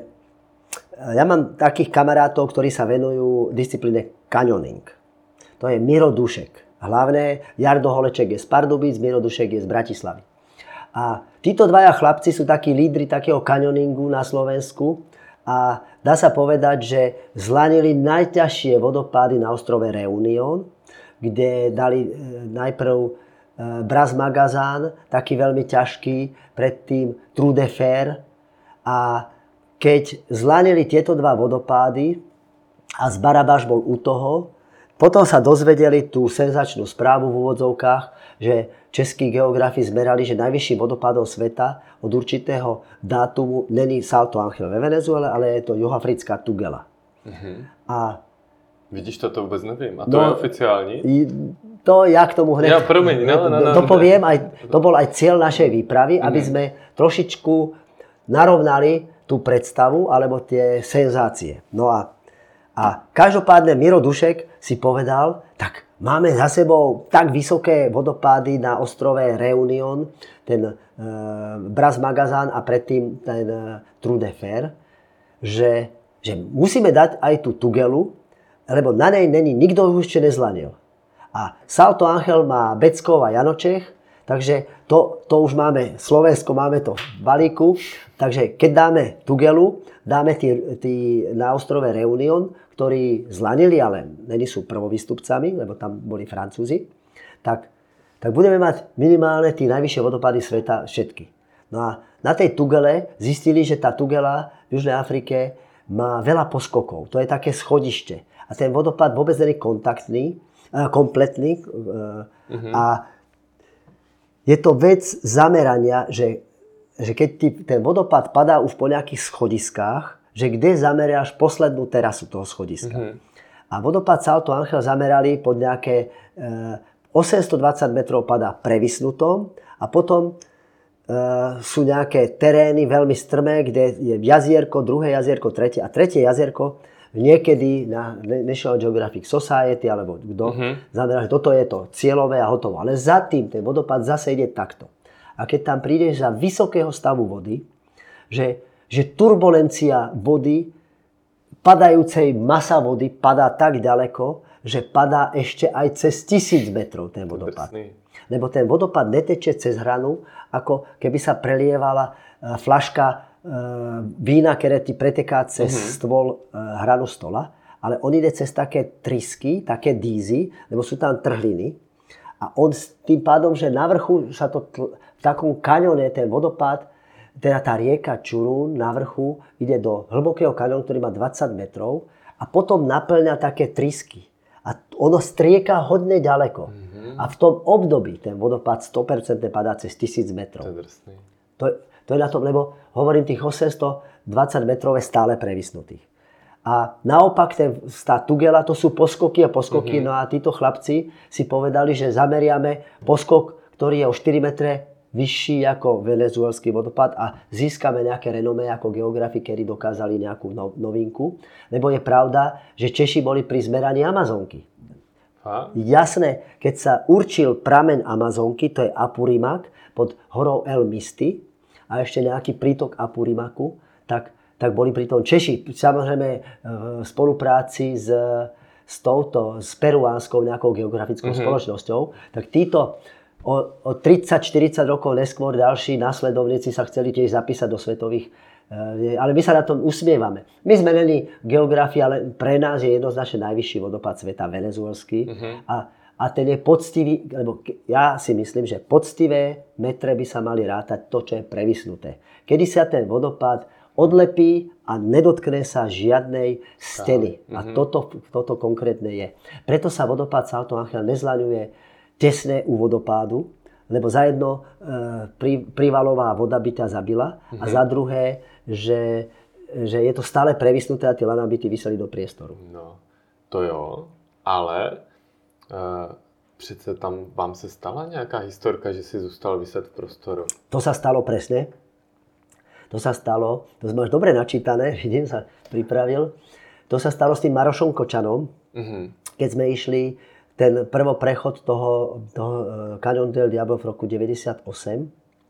ja mám takých kamarátov, ktorí sa venujú disciplíne canyoning. To je Miro Dušek. Hlavné, Jardo Holeček je z Pardubíc, Miro Dušek je z Bratislavy. A títo dvaja chlapci sú takí lídri takého canyoningu na Slovensku a dá sa povedať, že zlanili najťažšie vodopády na ostrove Reunion, kde dali najprv Bras Magazán, taký veľmi ťažký, predtým Trou de Fer. A keď zlanili tieto dva vodopády a z Barabáš bol u toho, potom sa dozvedeli tú senzačnú správu v úvodzovkách, že českí geografi zmerali, že najvyšším vodopádom sveta od určitého dátumu není Salto Ángel ve Venezuele, ale je to juhoafrická Tugela. Uh-huh. A vidíš, to, to vůbec nevím. A to no, je oficiální? To ja k tomu hneď ja, promiň, no, no, no, dopoviem. Aj, to bol aj cieľ našej výpravy, uh-huh. aby sme trošičku narovnali tú predstavu alebo tie senzácie. No a, a každopádne Miro Dušek si povedal, tak máme za sebou tak vysoké vodopády na ostrove Reunion, ten e, Bras Magazán a predtým ten e, Trou de Fer, že, že musíme dať aj tú Tugelu, lebo na nej není nikto už ešte nezlanil. A Salto Ángel má Beckov a Janočech, takže to, to už máme, Slovensko máme to v balíku, takže keď dáme Tugelu, dáme tí, tí na ostrove Reunion, ktorí zlanili, ale není sú prvovýstupcami, lebo tam boli Francúzi, tak, tak budeme mať minimálne tí najvyššie vodopády sveta všetky. No a na tej Tugele zistili, že tá Tugela v Južnej Afrike má veľa poskokov. To je také schodište. A ten vodopád vôbec nie je kontaktný, kompletný. Uh-huh. A je to vec zamerania, že že keď ti ten vodopád padá už po nejakých schodiskách, že kde zameriaš poslednú terasu toho schodiska. Mm-hmm. A vodopád Salto Ángel zamerali pod nejaké e, osemstodvadsať metrov padá previsnutom a potom e, sú nejaké terény veľmi strmé, kde je jazierko, druhé jazierko, tretie a tretie jazierko niekedy na National Geographic Society alebo kto mm-hmm. zameral, že toto je to cieľové a hotovo. Ale za tým ten vodopád zase ide takto. A keď tam prídeš za vysokého stavu vody, že, že turbulencia vody, padajúcej masa vody padá tak ďaleko, že padá ešte aj cez tisíc metrov ten vodopád. Lebo ten vodopád neteče cez hranu, ako keby sa prelievala fľaška vína, ktoré ti preteká cez uh-huh. stôl hranu stola, ale on ide cez také trysky, také dízy, lebo sú tam trhliny. A on s tým pádom, že na vrchu sa to tl- v takom kaňone, ten vodopád, teda tá rieka Čurún na vrchu ide do hlbokého kaňonu, ktorý má dvadsať metrov a potom naplňa také trysky. A ono strieka hodne ďaleko. Mm-hmm. A v tom období ten vodopád sto percent padá cez tisíc metrov. To je, to je na tom, lebo hovorím, tých osemstodvadsať metrov je stále previsnutých. A naopak ten, tá Tugela, to sú poskoky a poskoky, mm-hmm. no a títo chlapci si povedali, že zameriame poskok, ktorý je o štyri metre vyšší ako venezuelský vodopád a získame nejaké renomé ako geografi, ktorí dokázali nejakú novinku. Lebo je pravda, že Češi boli pri zmeraní Amazonky. A? Jasné, keď sa určil prameň Amazonky, to je Apurimac, pod horou El Misti a ešte nejaký prítok Apurimacu, tak, tak boli pri tom Češi. Samozrejme v spolupráci s, s touto, s peruánskou nejakou geografickou mm-hmm. spoločnosťou, tak títo O, o tridsať štyridsať rokov neskôr ďalší následovníci sa chceli tiež zapísať do svetových. E, ale my sa na tom usmievame. My sme není geografii, ale pre nás je jednoznačne najvyšší vodopád sveta, venezuelský. Uh-huh. A, a ten je poctivý, lebo ja si myslím, že poctivé metre by sa mali rátať to, čo je previsnuté. Kedy sa ten vodopád odlepí a nedotkne sa žiadnej steny. Uh-huh. A toto, toto konkrétne je. Preto sa vodopád Salto Ángel nezlaňuje tesné u vodopádu, lebo za jedno e, pri, privalová voda by ťa zabila mm-hmm. a za druhé, že, že je to stále previsnuté a tie lana by ti vyseli do priestoru. No, to jo, ale e, přece tam vám se stala nějaká historka, že si zůstal vyset v prostoru? To sa stalo presne. To sa stalo, to máš dobre načítané, vidím, sa pripravil. To sa stalo s tým Marošom Kočanom, mm-hmm. keď sme išli ten prvoprechod toho, toho Cañón del Diablo v roku deväťdesiatosem.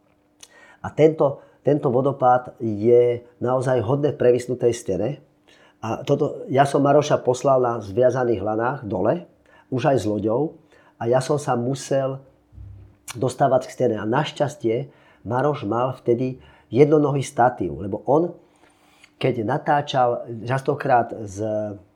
A tento, tento vodopád je naozaj hodne v previsnutej stene. A toto, ja som Maroša poslal na zviazaných lanách dole, už aj s loďou. A ja som sa musel dostávať k stene. A našťastie Maroš mal vtedy jednonohý statív, lebo on, keď natáčal častokrát z,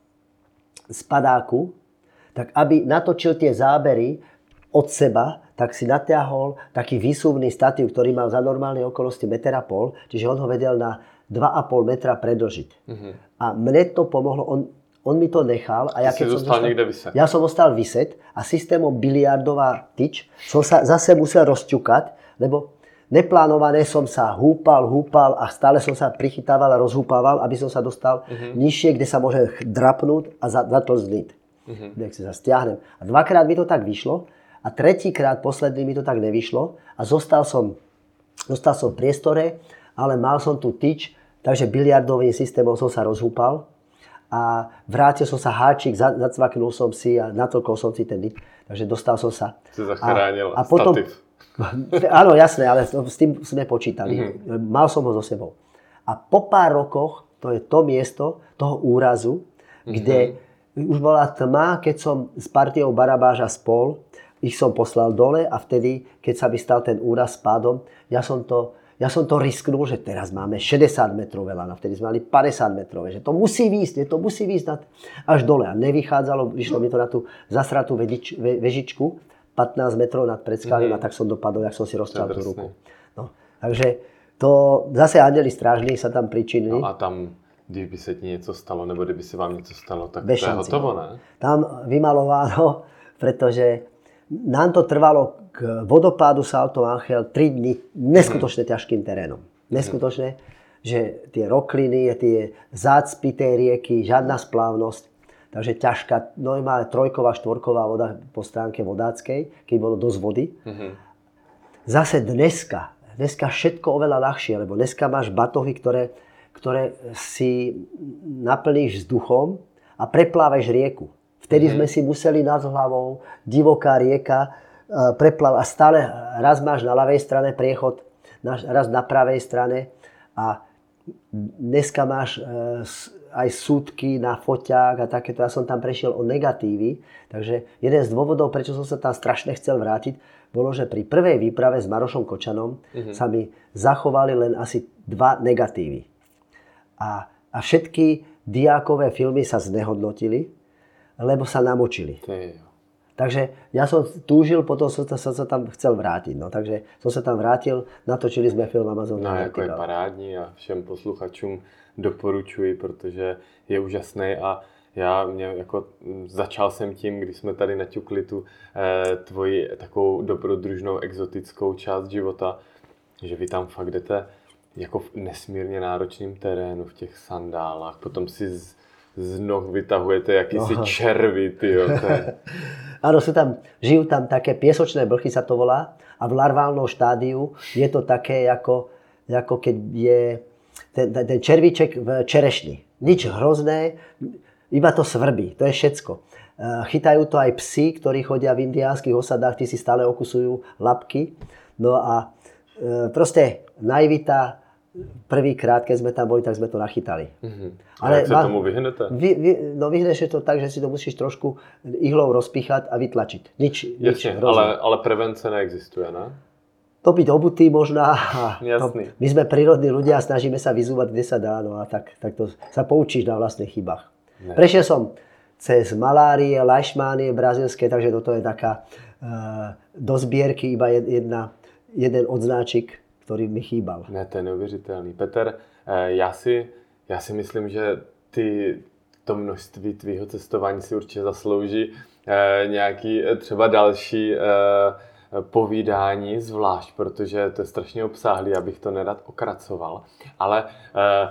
z padáku, tak aby natočil tie zábery od seba, tak si natiahol taký výsuvný statív, ktorý mal za normálne okolnosti meter a pol, čiže on ho vedel na dva a pol metra predĺžiť. Uh-huh. A mne to pomohlo, on, on mi to nechal. A ja, keď som zostal niekde vyset. Ja som ostal vyset a systémom biliardová tyč som sa zase musel rozťukať, lebo neplánované som sa húpal, húpal a stále som sa prichytával a rozhúpával, aby som sa dostal uh-huh. nižšie, kde sa môže drapnúť a zatlzniť. Uh-huh. Nech si sa stiahnem. A dvakrát mi to tak vyšlo a tretíkrát, posledný mi to tak nevyšlo a zostal som, zostal som v priestore, ale mal som tu tyč, takže biliardovým systémom som sa rozhúpal a vrátil som sa háčik, zacvaknul som si a natolkol som si ten dyt, takže dostal som sa. Si zachránil a, a potom, statív. Áno, jasné, ale s tým sme počítali. Uh-huh. Mal som ho so sebou. A po pár rokoch, to je to miesto toho úrazu, kde uh-huh. už bola tma, keď som s partiou Barabáža spol, ich som poslal dole a vtedy, keď sa mi stal ten úraz s pádom, ja som to, ja som to risknul, že teraz máme šesťdesiat metrové lana, vtedy sme mali päťdesiat metrové, že to musí výjsť, to musí výjsť až dole. A nevychádzalo, vyšlo mi to na tú zasratú vežič, ve, vežičku, pätnásť metrov nad predskalím mm-hmm. a tak som dopadol, jak som si rozťal tú ruku. No, takže to zase anjeli strážni sa tam pričinili. No a tam kdyby se ti něco stalo, nebo kdyby se vám něco stalo, tak to je hotovo, ne? Tam vymalováno, pretože nám to trvalo k vodopádu Salto Ángel tri dni neskutočne ťažkým terénom. Neskutočne, že tie rokliny, tie zácpy tej rieky, žiadna splávnosť. Takže ťažká, normálne trojková, štvorková voda po stránke vodáckej, keď bolo dosť vody. Mm-hmm. Zase dneska, dneska všetko oveľa ľahšie, lebo dneska máš batohy, ktoré, ktoré si naplníš vzduchom a preplávaš rieku. Vtedy mm-hmm. sme si museli nad hlavou, divoká rieka, preplávať a stále raz máš na ľavej strane priechod, raz na pravej strane a dneska máš aj súdky na foťák a takéto. Ja som tam prešiel o negatívy, takže jeden z dôvodov, prečo som sa tam strašne chcel vrátiť, bolo, že pri prvej výprave s Marošom Kočanom mm-hmm. sa mi zachovali len asi dva negatívy. A, a všetky diákové filmy sa znehodnotili, lebo sa namočili. Takže ja som túžil, potom som, som sa tam chcel vrátiť. No, takže som sa tam vrátil, natočili jsme film Amazon. No, jako je parádní a všem posluchačům doporučuji, protože je úžasný a já mě jako začal jsem tím, když jsme tady naťukli tu eh, tvoji takovou dobrodružnou exotickou část života, že vy tam fakt jdete jako v nesmírně náročném terénu, v těch sandálách, potom si z, z noh vytahujete jakýsi no. červy, tyjo. Áno, sú tam, žijú tam také piesočné blchy, sa to volá, a v larválnom štádiu je to také, ako, ako keď je ten, ten červíček v čerešni. Nič hrozné, iba to svrbí, to je všetko. Chytajú to aj psi, ktorí chodia v indiánskych osadách, tí si stále okusujú labky. No a proste naivita, prvýkrát, keď sme tam boli, tak sme to nachytali. Mm-hmm. Ale jak sa tomu vyhnete? Vy, vy, no vyhneš to tak, že si to musíš trošku ihlou rozpíchať a vytlačiť. Nič, Jasne, nič ale, ale prevence neexistuje, ne? To byť obutý možná. Jasný. To, my sme prírodní ľudia a snažíme sa vyzúvať, kde sa dá. No a tak, tak to sa poučíš na vlastných chybách. Ne. Prešiel som cez malárie, leishmánie brazilské, takže toto je taká uh, do zbierky iba jedna, jeden odznáčik, který mi chýbal. Ne, to je neuvěřitelný. Petr, já si, já si myslím, že ty, to množství tvýho cestování si určitě zaslouží eh, nějaký třeba další eh, povídání zvlášť, protože to je strašně obsáhlý, abych to nerad okracoval. Ale eh,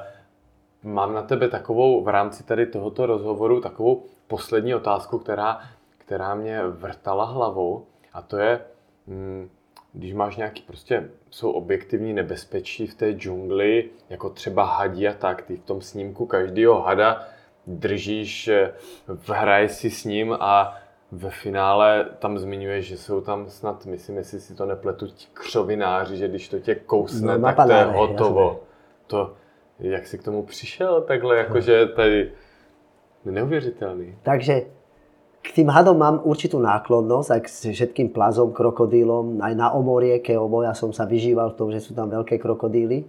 mám na tebe takovou, v rámci tady tohoto rozhovoru, takovou poslední otázku, která, která mě vrtala hlavou, a to je... Hm, když máš nějaký prostě, jsou objektivní nebezpečí v té džungli, jako třeba hadí a tak, ty v tom snímku každýho hada držíš, hraješ si s ním a ve finále tam zmiňuješ, že jsou tam snad, myslím, jestli si to nepletu, ti křovináři, že když to tě kousne, no, tak to je hotovo. To, jak jsi k tomu přišel takhle, jakože tady neuvěřitelný. Takže k tým hadom mám určitú náklonnosť, aj k všetkým plazom, krokodílom, aj na omorieke, obo, ja som sa vyžíval v tom, že sú tam veľké krokodíly.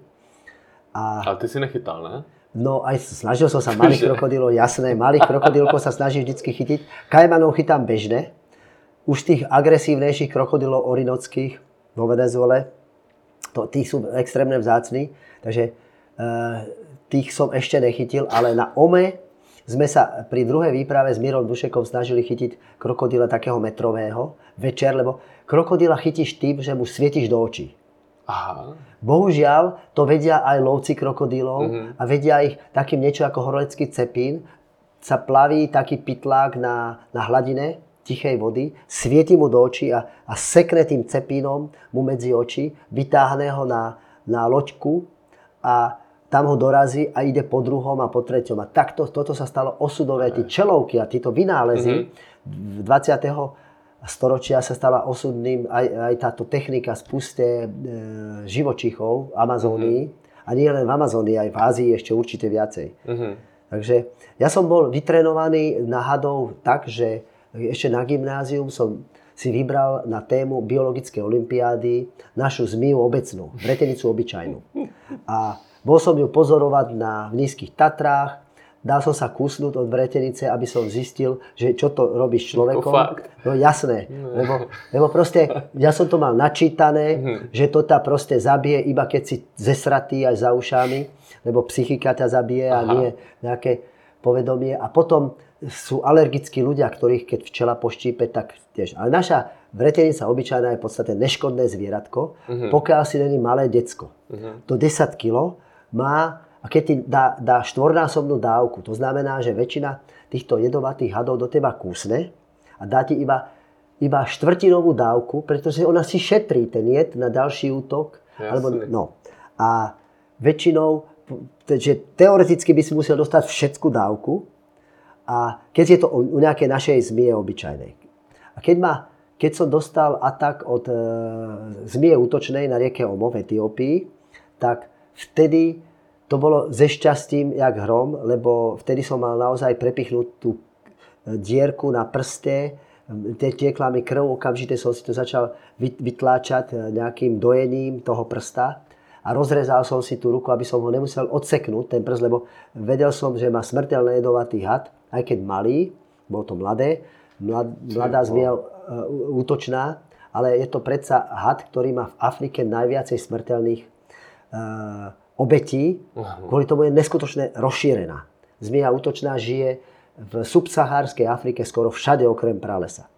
A... Ale ty si nechytal, ne? No aj snažil som sa malých krokodílov, jasné, malých krokodílkov sa snažím vždycky chytiť. Kajmanov chytám bežne. Už tých agresívnejších krokodílov orinockých vo Venezuele, to, tých sú extrémne vzácni, takže e, tých som ešte nechytil, ale na Ome sme sa pri druhej výprave s Mírom Dušekom snažili chytiť krokodíla takého metrového večer, lebo krokodíla chytíš tým, že mu svietíš do očí. Aha. Bohužiaľ, to vedia aj lovci krokodílov mm-hmm. a vedia ich takým niečo ako horolecký cepín. Sa plaví taký pytlák na, na hladine tichej vody, svieti mu do očí a, a sekne tým cepínom mu medzi oči, vytáhne ho na, na loďku a tam ho dorazí a ide po druhom a po treťom. A takto toto sa stalo osudové. Tí čelovky a títo vynálezy mm-hmm. v dvadsiateho storočia sa stala osudným aj, aj táto technika spusté e, živočíchov Amazónii. Mm-hmm. A nie len v Amazónii, aj v Ázii ešte určite viacej. Mm-hmm. Takže ja som bol vytrenovaný na hadov tak, že ešte na gymnázium som si vybral na tému biologické olympiády našu zmiju obecnú, vretenicu obyčajnú. A bol som ju pozorovať na v nízkych Tatrách, dal som sa kusnúť od vretenice, aby som zistil, že čo to robí s človekom. No jasné, lebo, lebo proste ja som to mal načítané, mm-hmm. že to tá proste zabije, iba keď si zesratý aj za ušami, lebo psychika ťa zabije a nie nejaké povedomie. A potom sú alergickí ľudia, ktorých keď včela poštípe, tak tiež. Ale naša vretenica obyčajná je v podstate neškodné zvieratko, uh-huh. pokiaľ si není malé decko. Uh-huh. Do desať kilogramov má, a keď ti dá, dá štvornásobnú dávku, to znamená, že väčšina týchto jedovatých hadov do teba kúsne a dá ti iba, iba štvrtinovú dávku, pretože ona si šetrí ten jed na ďalší útok. Alebo, no. A väčšinou, že teoreticky by si musel dostať všetku dávku, a keď je to u nejakej našej zmije obyčajnej. A keď, ma, keď som dostal atak od e, zmije útočnej na rieke Omo v Etiópii, tak vtedy to bolo ze šťastím jak hrom, lebo vtedy som mal naozaj prepichnutú dierku na prste, tiekla mi krv, okamžite som si to začal vytláčať nejakým dojením toho prsta a rozrezal som si tú ruku, aby som ho nemusel odseknúť, ten prst, lebo vedel som, že má smrteľný jedovatý had, aj keď malý, bolo to mladé, mlad, mladá zmija útočná, ale je to predsa had, ktorý má v Afrike najviacej smrteľných uh, obetí, uh-huh. kvôli tomu je neskutočne rozšírená. Zmija útočná žije v subsahárskej Afrike skoro všade okrem pralesa.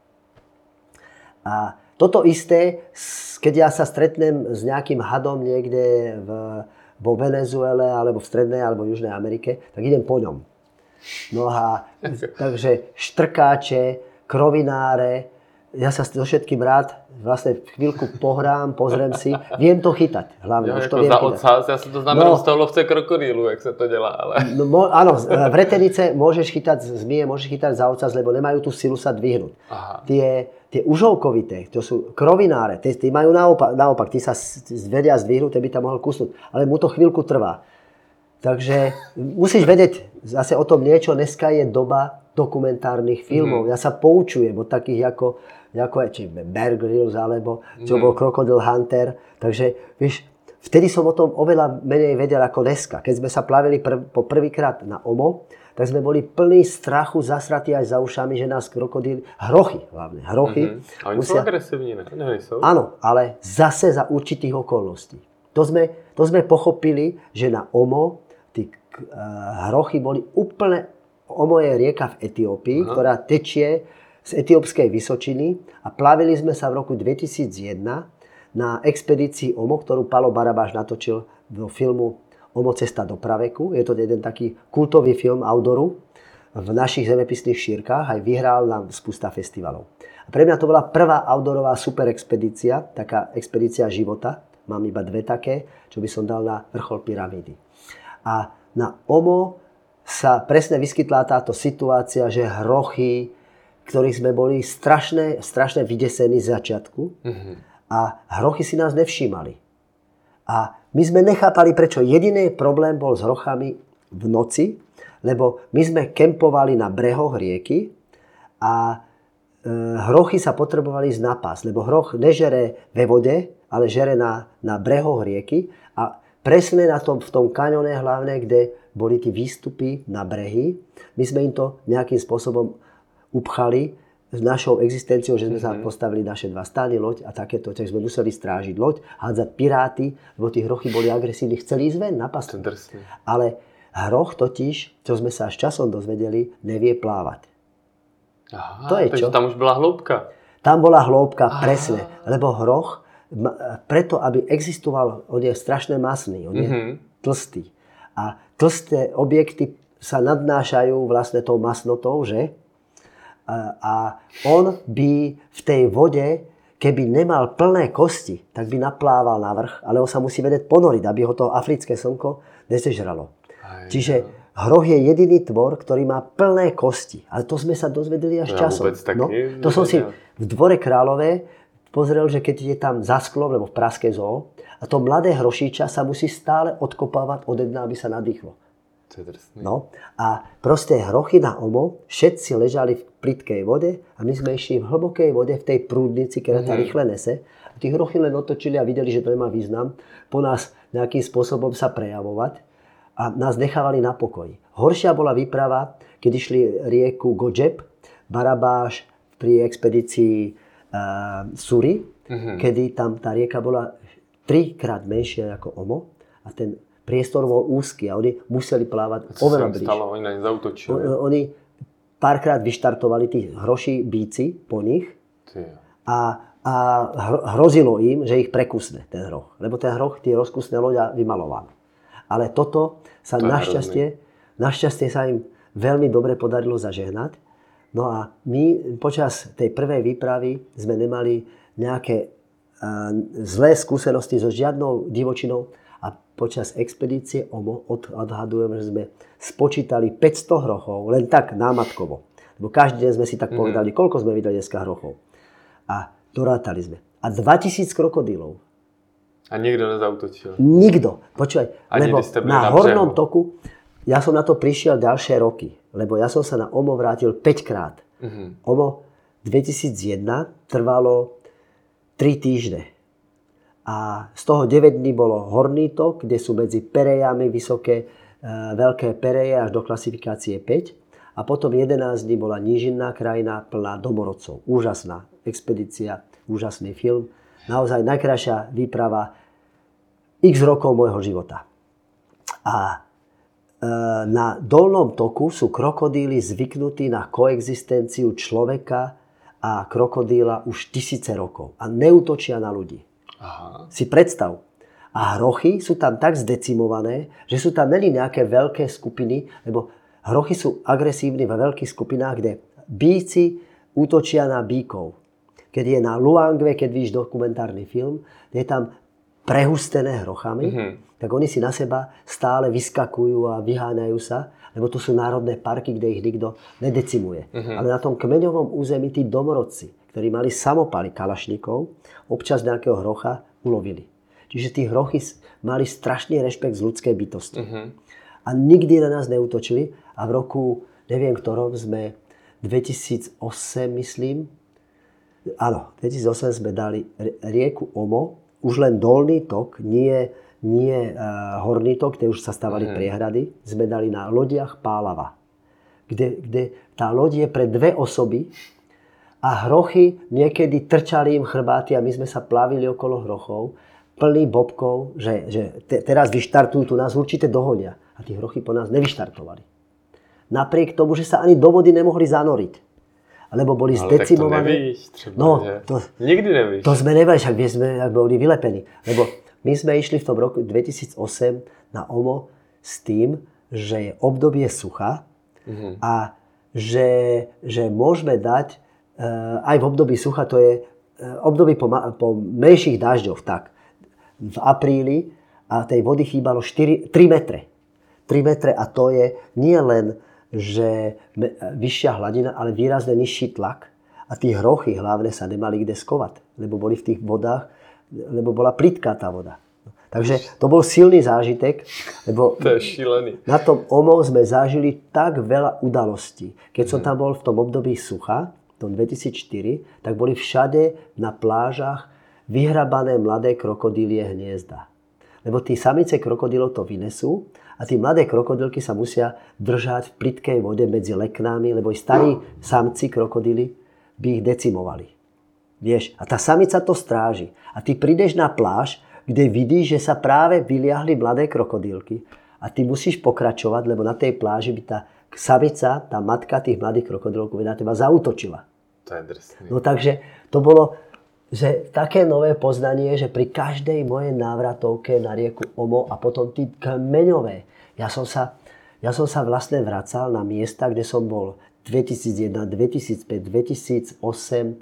A toto isté, keď ja sa stretnem s nejakým hadom niekde v, vo Venezuele, alebo v Strednej, alebo Južnej Amerike, tak idem po ňom. No a takže štrkáče, krovináre, ja sa so všetkým rád vlastne chvíľku pohrám, pozriem si, viem to chytať. Hlavne, jo, už jako to viem za chytať. ocas, já si to znamená no, z toho lovce krokodýlu, jak se to dělá, ale... No, mo, áno, v retenice môžeš chytať zmije, môžeš chytať za ocas, lebo nemajú tú silu sa dvihnúť. Aha. Tie, tie užovkovité, to sú krovináre, tí, tí majú naopak, naopak, tí sa vedia zdvihnúť, ty by tam mohol kusnúť, ale mu to chvíľku trvá. Takže musíš vedieť zase o tom niečo. Dneska je doba dokumentárnych filmov. Mm. Ja sa poučujem od takých ako, ako je, či Bear Grylls, alebo čo mm. bol Crocodile Hunter. Takže vieš, vtedy som o tom oveľa menej vedel ako dneska. Keď sme sa plavili prv, po prvýkrát na Omo, tak sme boli plní strachu, zasratí aj za ušami, že nás krokodíly, hrochy hlavne, hrochy. Mm-hmm. A oni musia... sú agresívni, ne? Ne sú. Áno, ale zase za určitých okolností. To sme, to sme pochopili, že na Omo tí uh, hrochy boli úplne... Omo je rieka v Etiópii, aha, ktorá tečie z etiópskej Vysočiny a plavili sme sa v roku dvetisícjeden na expedícii Omo, ktorú Palo Barabáš natočil do filmu Omo cesta do praveku. Je to jeden taký kultový film outdooru v našich zemepisných šírkach, aj vyhral nám spústa festivalov. A pre mňa to bola prvá outdoorová super expedícia, taká expedícia života. Mám iba dve také, čo by som dal na vrchol pyramídy. A na Omo sa presne vyskytla táto situácia, že hrochy, ktorých sme boli strašne, strašne vydesení z začiatku, mm-hmm. a hrochy si nás nevšímali. A my sme nechápali, prečo. Jediný problém bol s hrochami v noci, lebo my sme kempovali na brehoch rieky a e, hrochy sa potrebovali ísť na pás, lebo hroch nežere ve vode, ale žere na, na brehoch rieky a presne na tom, v tom kaňone hlavne, kde boli tí výstupy na brehy. My sme im to nejakým spôsobom upchali s našou existenciou, že sme mm-hmm. sa postavili naše dva stány, loď a takéto, tak sme museli strážiť loď, hádzať piráty, lebo tí hrochy boli agresívni, chceli ísť ven na pastu. Ale hroch totiž, čo sme sa až časom dozvedeli, nevie plávať. Aha, to je čo? Tam už bola hĺbka. Tam bola hĺbka, presne, lebo hroch, preto, aby existoval, on je strašne masný, on je mm-hmm. tlstý. A tlsté objekty sa nadnášajú vlastne tou masnotou, že? A, a on by v tej vode, keby nemal plné kosti, tak by naplával na vrch, ale on sa musí vedieť ponoriť, aby ho to africké slnko nezežralo. Aj, Čiže ja. hroch je jediný tvor, ktorý má plné kosti. Ale to sme sa dozvedeli až ja časom. No, to som si v Dvore Králové pozrel, že keď je tam za sklom, lebo v Pražskej zoo, a to mladé hrošíča sa musí stále odkopávať od dna, aby sa nadýchlo. No a proste hrochy na Omo, všetci ležali v plytkej vode a my sme išli v hlbokej vode, v tej prúdnici, keď mm-hmm. sa rýchle nese. A tí hrochy len otočili a videli, že to nemá význam po nás nejakým spôsobom sa prejavovať a nás nechávali na pokoji. Horšia bola výprava, keď išli rieku Godžeb, Barabáš pri expedícii uh, Suri, mm-hmm. kedy tam tá rieka bola trikrát menšia ako Omo a ten priestor bol úzky a oni museli plávať oveľa bližšie. Stalo, oni na ne zautočili. Oni párkrát vyštartovali tí hroší bíci po nich a, a hrozilo im, že ich prekusne ten hroch. Lebo ten hroch, tie rozkusné loďa vymaloval. Ale toto sa to našťastie, našťastie sa im veľmi dobre podarilo zažehnať. No a my počas tej prvej výpravy sme nemali nejaké uh, zlé skúsenosti so žiadnou divočinou a počas expedície O M O odhadujeme, že sme spočítali päťsto hrochov, len tak námatkovo. Lebo každý deň sme si tak povedali, mm. koľko sme videli dneska hrochov. A dorátali sme. A dvatisíc krokodílov. A nikto nezautočil? Nikto. Počúvaj, ani lebo na, na hornom toku, ja som na to prišiel ďalšie roky, lebo ja som sa na O M O vrátil päťkrát. Uh-huh. O M O dvetisícjeden trvalo tri týždne. A z toho deväť dní bolo horný tok, kde sú medzi perejami vysoké, e, veľké pereje až do klasifikácie päť. A potom jedenásť dní bola nížinná krajina plná domorodcov. Úžasná expedícia, úžasný film. Naozaj najkrajšia výprava x rokov môjho života. A na dolnom toku sú krokodíly zvyknutí na koexistenciu človeka a krokodíla už tisíce rokov a neútočia na ľudí. Aha. Si predstav. A hrochy sú tam tak zdecimované, že sú tam neli nejaké veľké skupiny, lebo hrochy sú agresívni vo veľkých skupinách, kde bíci útočia na bíkov. Keď je na Luangve, keď vidíš dokumentárny film, je tam prehustené hrochami, mm-hmm. tak oni si na seba stále vyskakujú a vyháňajú sa, lebo to sú národné parky, kde ich nikto nedecimuje. Mm-hmm. Ale na tom kmeňovom území tí domorodci, ktorí mali samopaly kalašníkov, občas nejakého hrocha ulovili. Čiže tí hrochy mali strašný rešpekt z ľudskej bytosti. Mm-hmm. A nikdy na nás neútočili a v roku, neviem ktorom, sme dvetisícosem, myslím, áno, dvetisícosem sme dali rieku O M O, už len dolný tok, nie, nie uh, horný tok, kde už sa stávali mm. priehrady, sme dali na lodiach Pálava, kde, kde tá loď je pre dve osoby a hrochy niekedy trčali im chrbáty a my sme sa plavili okolo hrochov, plný bobkov, že, že te, teraz vyštartujú, tu nás určite dohonia. A tí hrochy po nás nevyštartovali. Napriek tomu, že sa ani do vody nemohli zanoriť. Lebo boli ale zdecimované. Tak to nevíš třeba, no, to, nikdy nevíš. To sme nevedeli, však sme boli vylepení. Lebo my sme išli v tom roku dvetisícosem na O M O s tým, že je obdobie sucha uh-huh. a že, že môžeme dať, uh, aj v období sucha, to je uh, obdobie po, po menších dažďoch, tak v apríli a tej vody chýbalo štyri, tri metre. tri metre a to je nie len že vyššia hladina, ale výrazne nižší tlak. A tí hrochy hlavne sa nemali kde skovať, lebo boli v tých vodách, lebo bola plitká tá voda. Takže to bol silný zážitek, lebo to je šílený. Na tom O M O sme zažili tak veľa udalostí. Keď som tam bol v tom období sucha, v tom dvetisícštyri, tak boli všade na plážach vyhrabané mladé krokodílie hniezda. Lebo tí samice krokodílov to vynesú a tí mladé krokodílky sa musia držať v plytkej vode medzi leknami, lebo i starí samci krokodíly by ich decimovali. Vieš, a tá samica to stráži. A ty prídeš na pláž, kde vidíš, že sa práve vyliahli mladé krokodílky a ty musíš pokračovať, lebo na tej pláži by tá samica, tá matka tých mladých krokodílkov na teba zaútočila. To je drsný. No takže to bolo že také nové poznanie, že pri každej mojej návratovke na rieku O M O a potom tí kmeňové, ja som sa, ja som sa vlastne vracal na miesta, kde som bol dvetisícjeden, dvetisícpäť, dvetisícosem,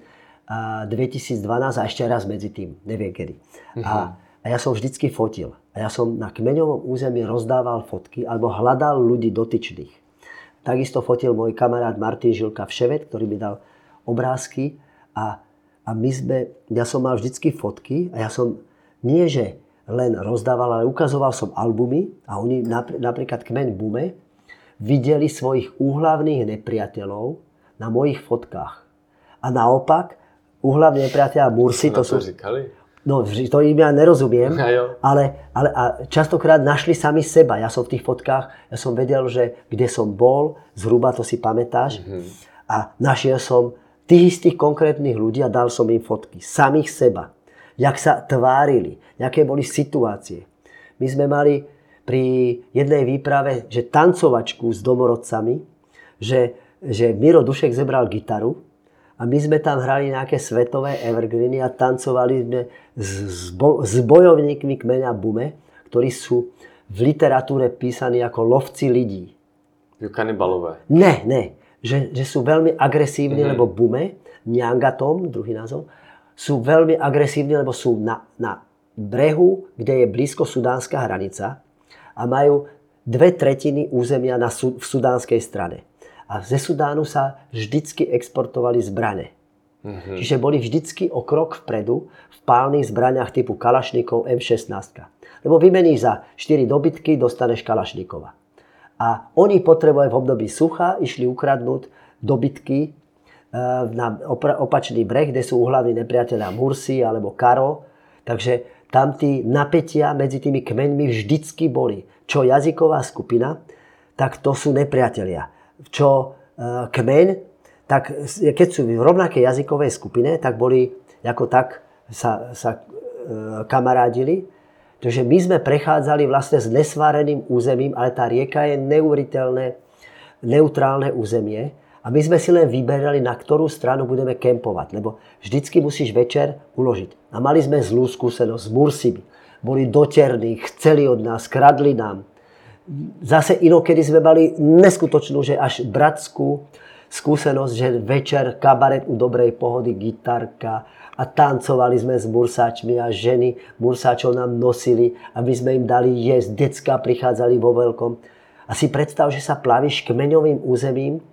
a dvetisícdvanásť a ešte raz medzi tým, neviem kedy. Uh-huh. A, a ja som vždycky fotil. A ja som na kmeňovom území rozdával fotky alebo hľadal ľudí dotyčných. Takisto fotil môj kamarát Martin Žilka Vševet, ktorý mi dal obrázky a A my sme, ja som mal vždycky fotky a ja som nie, že len rozdával, ale ukazoval som albumy a oni, napríklad kmeň Bume, videli svojich úhlavných nepriateľov na mojich fotkách. A naopak, úhlavní nepriateľa Mursi, to sú... Říkali? No, to im ja nerozumiem, ale, ale a častokrát našli sami seba. Ja som v tých fotkách, ja som vedel, že kde som bol, zhruba to si pamätáš, mm-hmm. a našiel som tých istých konkrétnych ľudí a dal som im fotky. Samých seba. Jak sa tvárili. Jaké boli situácie. My sme mali pri jednej výprave, že tancovačku s domorodcami, že že Miro Dušek zebral gitaru a my sme tam hrali nejaké svetové evergreeny a tancovali sme s, bo, s bojovníkmi kmeňa Bume, ktorí sú v literatúre písaní ako lovci lidí. Kanibalové. Ne, ne. Že, že sú veľmi agresívni, mm-hmm. lebo Bume, Nyangatom, druhý názov, sú veľmi agresívni, lebo sú na, na brehu, kde je blízko sudánska hranica a majú dve tretiny územia na, v sudánskej strane. A ze Sudánu sa vždycky exportovali zbrane. Mm-hmm. Čiže boli vždycky o krok vpredu v pálnych zbraniach typu Kalašnikov em šestnásť. Lebo vymeníš za štyri dobytky, dostaneš Kalašnikova. A oni potrebovali v období sucha, išli ukradnúť dobytky na opačný breh, kde sú uhlavní nepriatelia Mursi alebo Karo. Takže tam tí napätia medzi tými kmeňmi vždycky boli. Čo jazyková skupina, tak to sú nepriatelia. Čo e, kmeň, tak keď sú v rovnakej jazykovej skupine, tak boli, ako tak sa, sa e, kamarádili. Takže my sme prechádzali vlastne s nesváreným územím, ale tá rieka je neuveriteľné, neutrálne územie. A my sme si len vyberali, na ktorú stranu budeme kempovať, lebo vždycky musíš večer uložiť. A mali sme zlú skúsenosť s Mursimi. Boli doterní, chceli od nás, kradli nám. Zase inokedy sme mali neskutočnú, že až bratskú skúsenosť, že večer kabaret u dobrej pohody, gitarka a tancovali sme s Mursáčmi a ženy Mursáčov nám nosili, aby sme im dali jesť. Decká prichádzali vo veľkom. A si predstav, že sa plavíš kmeňovým územím,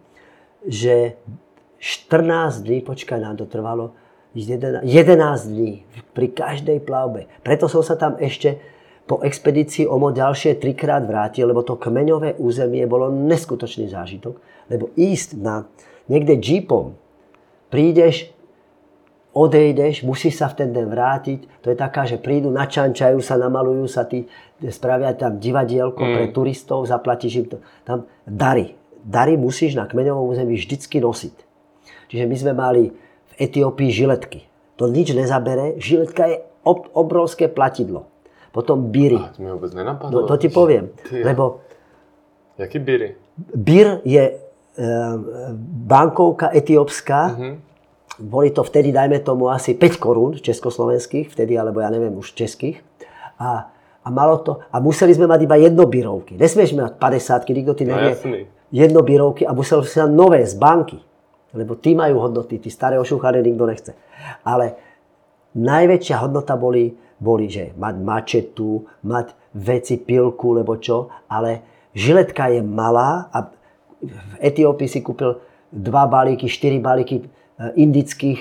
že štrnásť dní, počkaj, nám to trvalo, jedenásť dní pri každej plavbe. Preto som sa tam ešte po expedícii o mo ďalšie trikrát vrátil, lebo to kmeňové územie bolo neskutočný zážitok. Lebo ísť na niekde džípom, prídeš, odejdeš, musíš sa v ten deň vrátiť. To je taká, že prídu, načančajú sa, namalujú sa, tí, spravia tam divadielko mm. pre turistov, zaplatíš im to. Tam dary. Dary musíš na kmeňovom území vždycky nosiť. Čiže my sme mali v Etiópii žiletky. To nič nezabere. Žiletka je ob, obrovské platidlo. Potom biry. A to mi vôbec nenapadlo. No, to ti poviem. Ty, lebo jaký biry? Bir je e, bankovka etiópska. Uh-huh. Boli to vtedy, dajme tomu, asi päť korún československých, vtedy, alebo ja neviem, už českých. A, a malo to, a museli sme mať iba jednobirovky. Nesmieš mať päťdesiatky, nikto ti nevie. No, jednobirovky a musel si mať nové z banky. Lebo tí majú hodnoty, tí staré ošúchané nikto nechce. Ale najväčšia hodnota boli, boli, že mať mačetu, mať veci, pilku, lebo čo. Ale žiletka je malá a v Etiópii si kúpil dva balíky, štyri balíky indických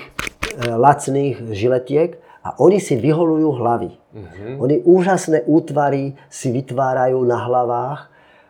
lacných žiletiek a oni si vyholujú hlavy. Mm-hmm. Oni úžasné útvary si vytvárajú na hlavách,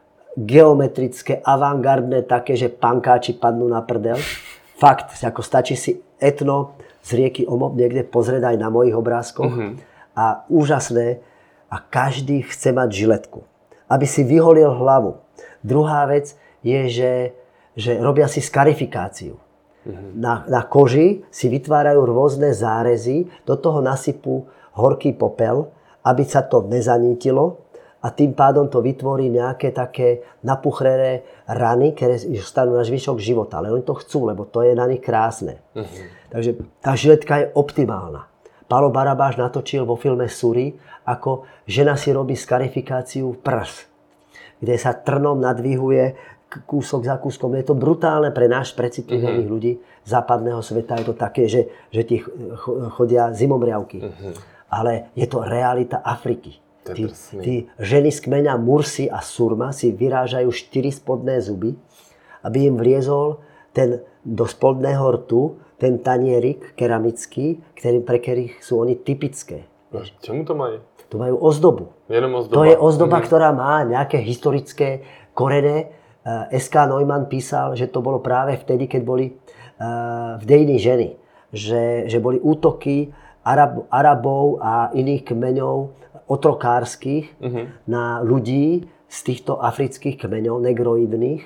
geometrické, avantgardné, také, že pankáči padnú na prdel. Fakt, ako stačí si etno z rieky Omo niekde pozrieť aj na mojich obrázkoch. Mm-hmm. A úžasné. A každý chce mať žiletku, aby si vyholil hlavu. Druhá vec je, že, že robia si skarifikáciu. Mm-hmm. Na, na koži si vytvárajú rôzne zárezy, do toho nasypú horký popel, aby sa to nezanítilo. A tým pádom to vytvorí nejaké také napuchrené rany, ktoré stanú na zvyšok života. Ale oni to chcú, lebo to je na nich krásne. Uh-huh. Takže tá žiletka je optimálna. Pálo Barabáš natočil vo filme Suri, ako žena si robí skarifikáciu prs, kde sa trnom nadvihuje kúsok za kúskom. Je to brutálne pre náš precitlivených uh-huh. ľudí západného sveta. Je to také, že, že ti chodia zimomriavky. Uh-huh. Ale je to realita Afriky. Tí, tí ženy z kmeňa Mursi a Surma si vyrážajú štyri spodné zuby, aby im vliezol ten, do spodného rtu ten tanierik keramický, ktorý, pre ktorých sú oni typické. A čemu to majú? To majú ozdobu. Jenom ozdoba. To je ozdoba, mm-hmm. ktorá má nejaké historické korene. es ká Neumann písal, že to bolo práve vtedy, keď boli v dejiny ženy. Že, že boli útoky Arab, Arabov a iných kmeňov otrokárskych uh-huh. na ľudí z týchto afrických kmeňov, negroidných.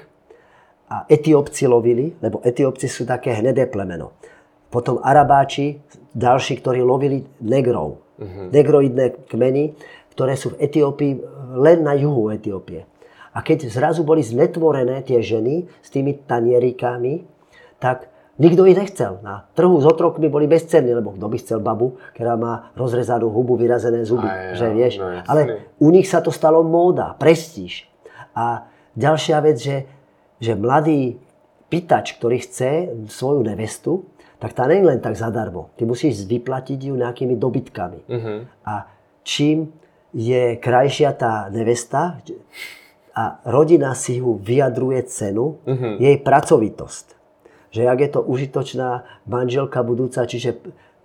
A Etiópci lovili, lebo Etiópci sú také hnedé plemeno. Potom Arabáči, ďalší, ktorí lovili negrov. Uh-huh. Negroidné kmeny, ktoré sú v Etiópii len na juhu Etiópie. A keď zrazu boli znetvorené tie ženy s tými tanierikami, tak nikto ich nechcel. Na trhu s otrokmi boli bezcenní, lebo kto by chcel babu, ktorá má rozrezanú hubu, vyrazené zuby. Aj, že, vieš? No, ale u nich sa to stalo móda, prestíž. A ďalšia vec, že, že mladý pýtač, ktorý chce svoju nevestu, tak tá nie je len tak zadarmo. Ty musíš vyplatiť ju nejakými dobytkami. Uh-huh. A čím je krajšia tá nevesta a rodina si ju vyjadruje cenu, uh-huh. jej pracovitosť. Že jak je to užitočná manželka budúca, čiže e,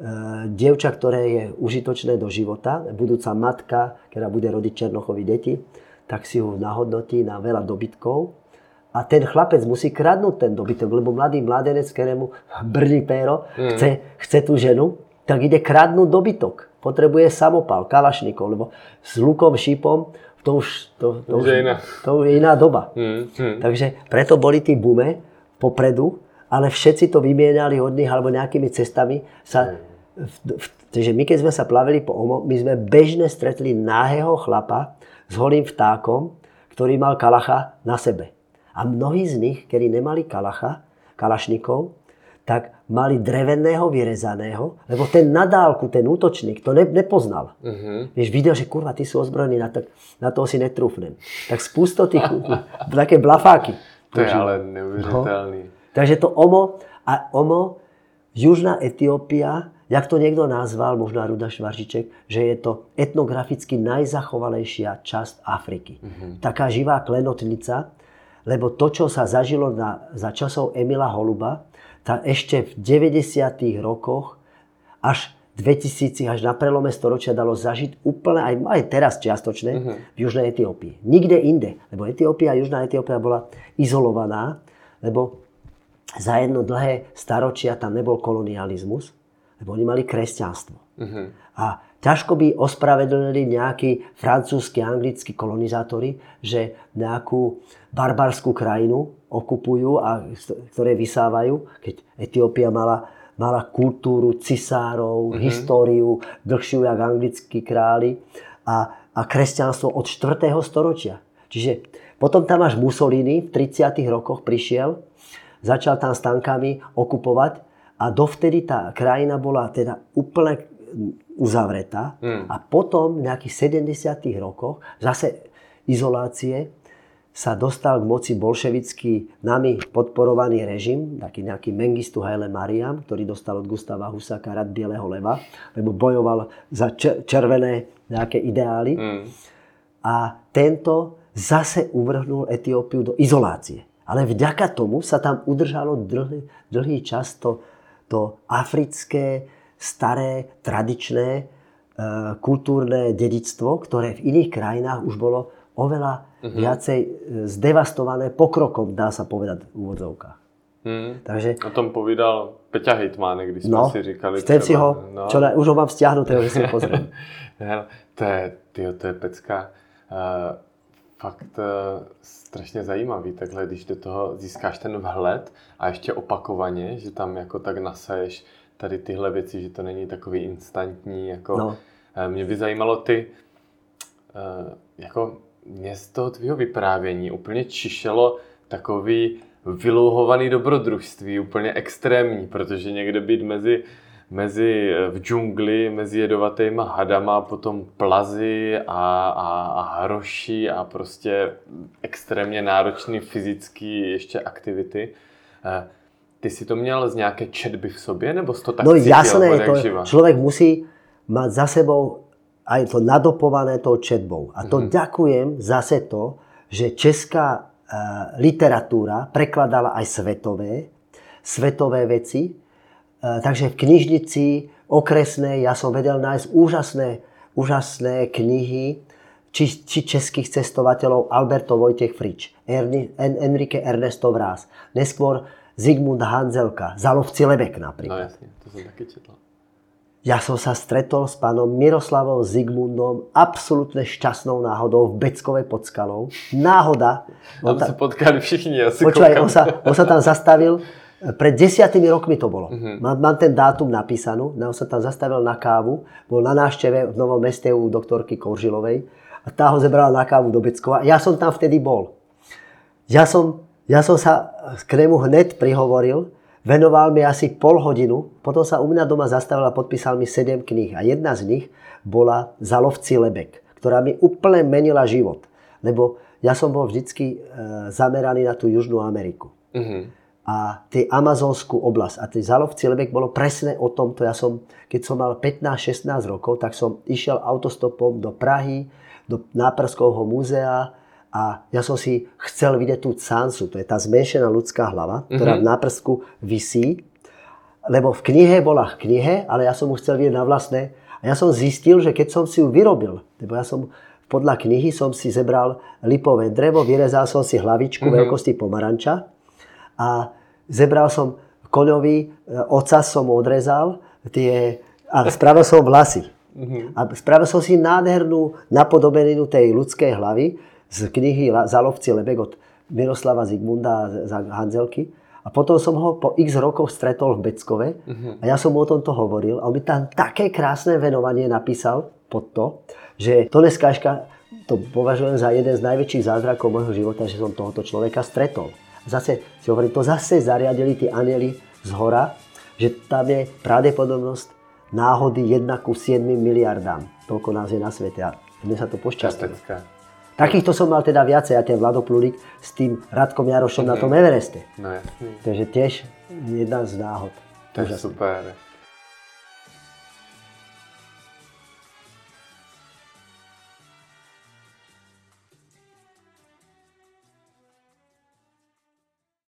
dievča, ktoré je užitočné do života, budúca matka, ktorá bude rodiť Černochovi deti, tak si ju nahodnotí na veľa dobytkov. A ten chlapec musí kradnúť ten dobytok, lebo mladý mladenec, ktorému brní péro, mm. chce, chce tú ženu, tak ide kradnúť dobytok. Potrebuje samopal, kalašníkov, lebo s lukom, šípom, to už, to, to, už, iná. to je iná doba. Mm. Mm. Takže preto boli tí bume popredu, ale všetci to vymienali od nich, alebo nejakými cestami. Sa, v, v, takže my, keď sme sa plavili po Omo, my sme bežne stretli náhého chlapa s holým vtákom, ktorý mal kalacha na sebe. A mnohí z nich, ktorí nemali kalacha, kalašníkov, tak mali dreveného vyrezaného, lebo ten na dálku, ten útočník, to ne, nepoznal. Uh-huh. Vieš, videl, že kurva, ty sú ozbrojení, na, to, na toho si netrúfnem. Tak spústo tých, také blafáky. To je ale neuvěřitelný. No. Takže to Omo, a Omo, Južná Etiópia, jak to niekto nazval, možno Ruda Švaržiček, že je to etnograficky najzachovalejšia časť Afriky. Uh-huh. Taká živá klenotnica, lebo to, čo sa zažilo na, za časov Emila Holuba, tak ešte v deväťdesiatych rokoch až dvetisíc, až na prelome storočia dalo zažiť úplne, aj, aj teraz čiastočne, uh-huh. v Južnej Etiópii. Nikde inde, lebo Etiópia, Južná Etiópia bola izolovaná, lebo za jedno dlhé staročia tam nebol kolonializmus, lebo oni mali kresťanstvo. Uh-huh. A ťažko by ospravedlnili nejakí francúzski, anglickí kolonizátori, že nejakú barbarskú krajinu okupujú a ktoré vysávajú, keď Etiópia mala, mala kultúru cisárov, mm-hmm. históriu, dlhšiu jak anglickí králi a, a kresťanstvo od štvrtého storočia. Čiže potom tam až Mussolini v tridsiatych rokoch prišiel, začal tam s tankami okupovať a dovtedy tá krajina bola teda úplne uzavretá. Mm. A potom v nejakých sedemdesiatych rokoch zase izolácie sa dostal k moci bolševický nami podporovaný režim, taký nejaký Mengistu Haile Mariam, ktorý dostal od Gustava Husáka rad Bieleho leva, lebo bojoval za červené nejaké ideály. Mm. A tento zase uvrhnul Etiópiu do izolácie. Ale vďaka tomu sa tam udržalo dlhý, dlhý čas to, to africké, staré, tradičné, e, kultúrne dedičstvo, ktoré v iných krajinách už bolo oveľa uh-huh. viacej zdevastované pokrokom, dá sa povedať v úvodzovkách. Hmm. Takže, o tom povídal Peťa Hejtmánek, když jsme no, si říkali třeba... si ho, no. čo ne, už ho mám stiahnutého, že si ho pozriem. to, je, tyjo, to je pecka. Uh, fakt uh, strašně zajímavý, takhle, když do toho získáš ten vhled a ještě opakovaně, že tam jako tak nasaješ tady tyhle věci, že to není takový instantní, jako no. uh, mě by zajímalo ty, uh, jako mě z toho tvýho vyprávění úplně čišelo takový vylouhovaný dobrodružství, úplně extrémní, protože někde být mezi, mezi v džungli, mezi jedovatýma hadama, potom plazy a, a, a hroši a prostě extrémně náročný fyzický ještě aktivity. Ty si to měl z nějaké četby v sobě, nebo jsi to tak no, cítil? No jasné, to človek musí mať za sebou aj to nadopované tou četbou. A to mm-hmm. ďakujem zase to, že česká uh, literatúra prekladala aj svetové, svetové veci. Uh, takže v knižnici okresnej ja som vedel nájsť úžasné, úžasné knihy či, či českých cestovateľov Alberto Vojtech Frič, Erni, en, Enrique Ernesto Vrás, neskôr Zigmund Hanzelka, Zalovci Lebek napríklad. No jasne, to som taky četla. Ja som sa stretol s pánom Miroslavom Zigmundom absolútne šťastnou náhodou v Beckovej pod Skalou. Náhoda. Tam sa potkali všichni. Ja si počúvaj, on sa, on sa tam zastavil. Pred desiatimi rokmi to bolo. Uh-huh. Mám, mám ten dátum napísanú. On sa tam zastavil na kávu. Bol na návšteve v Novom Meste u doktorky Koržilovej. A tá ho zebrala na kávu do Beckova. Ja som tam vtedy bol. ja som, ja som sa k nemu hneď prihovoril, venoval mi asi pol hodinu, potom sa u mňa doma zastavil a podpísal mi sedem kníh. A jedna z nich bola Za lovci lebek, ktorá mi úplne menila život. Lebo ja som bol vždycky zameraný na tú Južnú Ameriku. Uh-huh. A tej amazonskú oblasť. A tej Za lovci lebek bolo presne o tomto. Ja som, keď som mal pätnásť šestnásť rokov, tak som išiel autostopom do Prahy, do Náperskovho múzea a ja som si chcel vidieť tú Tsansu. To je tá zmenšená ľudská hlava, ktorá uh-huh. v Nápersku visí. Lebo v knihe bola v knihe, ale ja som ju chcel vidieť na vlastné. A ja som zistil, že keď som si ju vyrobil, lebo ja som podľa knihy som si zebral lipové drevo, vyrezal som si hlavičku uh-huh. veľkosti pomaranča a zebral som koňový, ocas som odrezal tie, a spravil som vlasy. Uh-huh. A spravil som si nádhernú napodobeninu tej ľudskej hlavy z knihy Za lovci lebek od Miroslava Zigmunda a Hanzelky. A potom som ho po x rokoch stretol v Beckove uh-huh. a ja som mu o tomto hovoril a on mi tam také krásne venovanie napísal pod to, že to dneskažka, to považujem za jeden z najväčších zázrakov môjho života, že som tohoto človeka stretol. Zase si hovorím, to zase zariadili tí anjeli z hora, že tam je pravdepodobnosť náhody jedna ku siedmim miliardám. Toľko nás je na svete a mne sa to pošťastilo. Takýchto som mal teda viacej, a ten Vlado Plúrik s tým Radkom Jarošom mm-hmm. na tom Evereste. No jasný. Takže tiež jedna z náhod. To je super.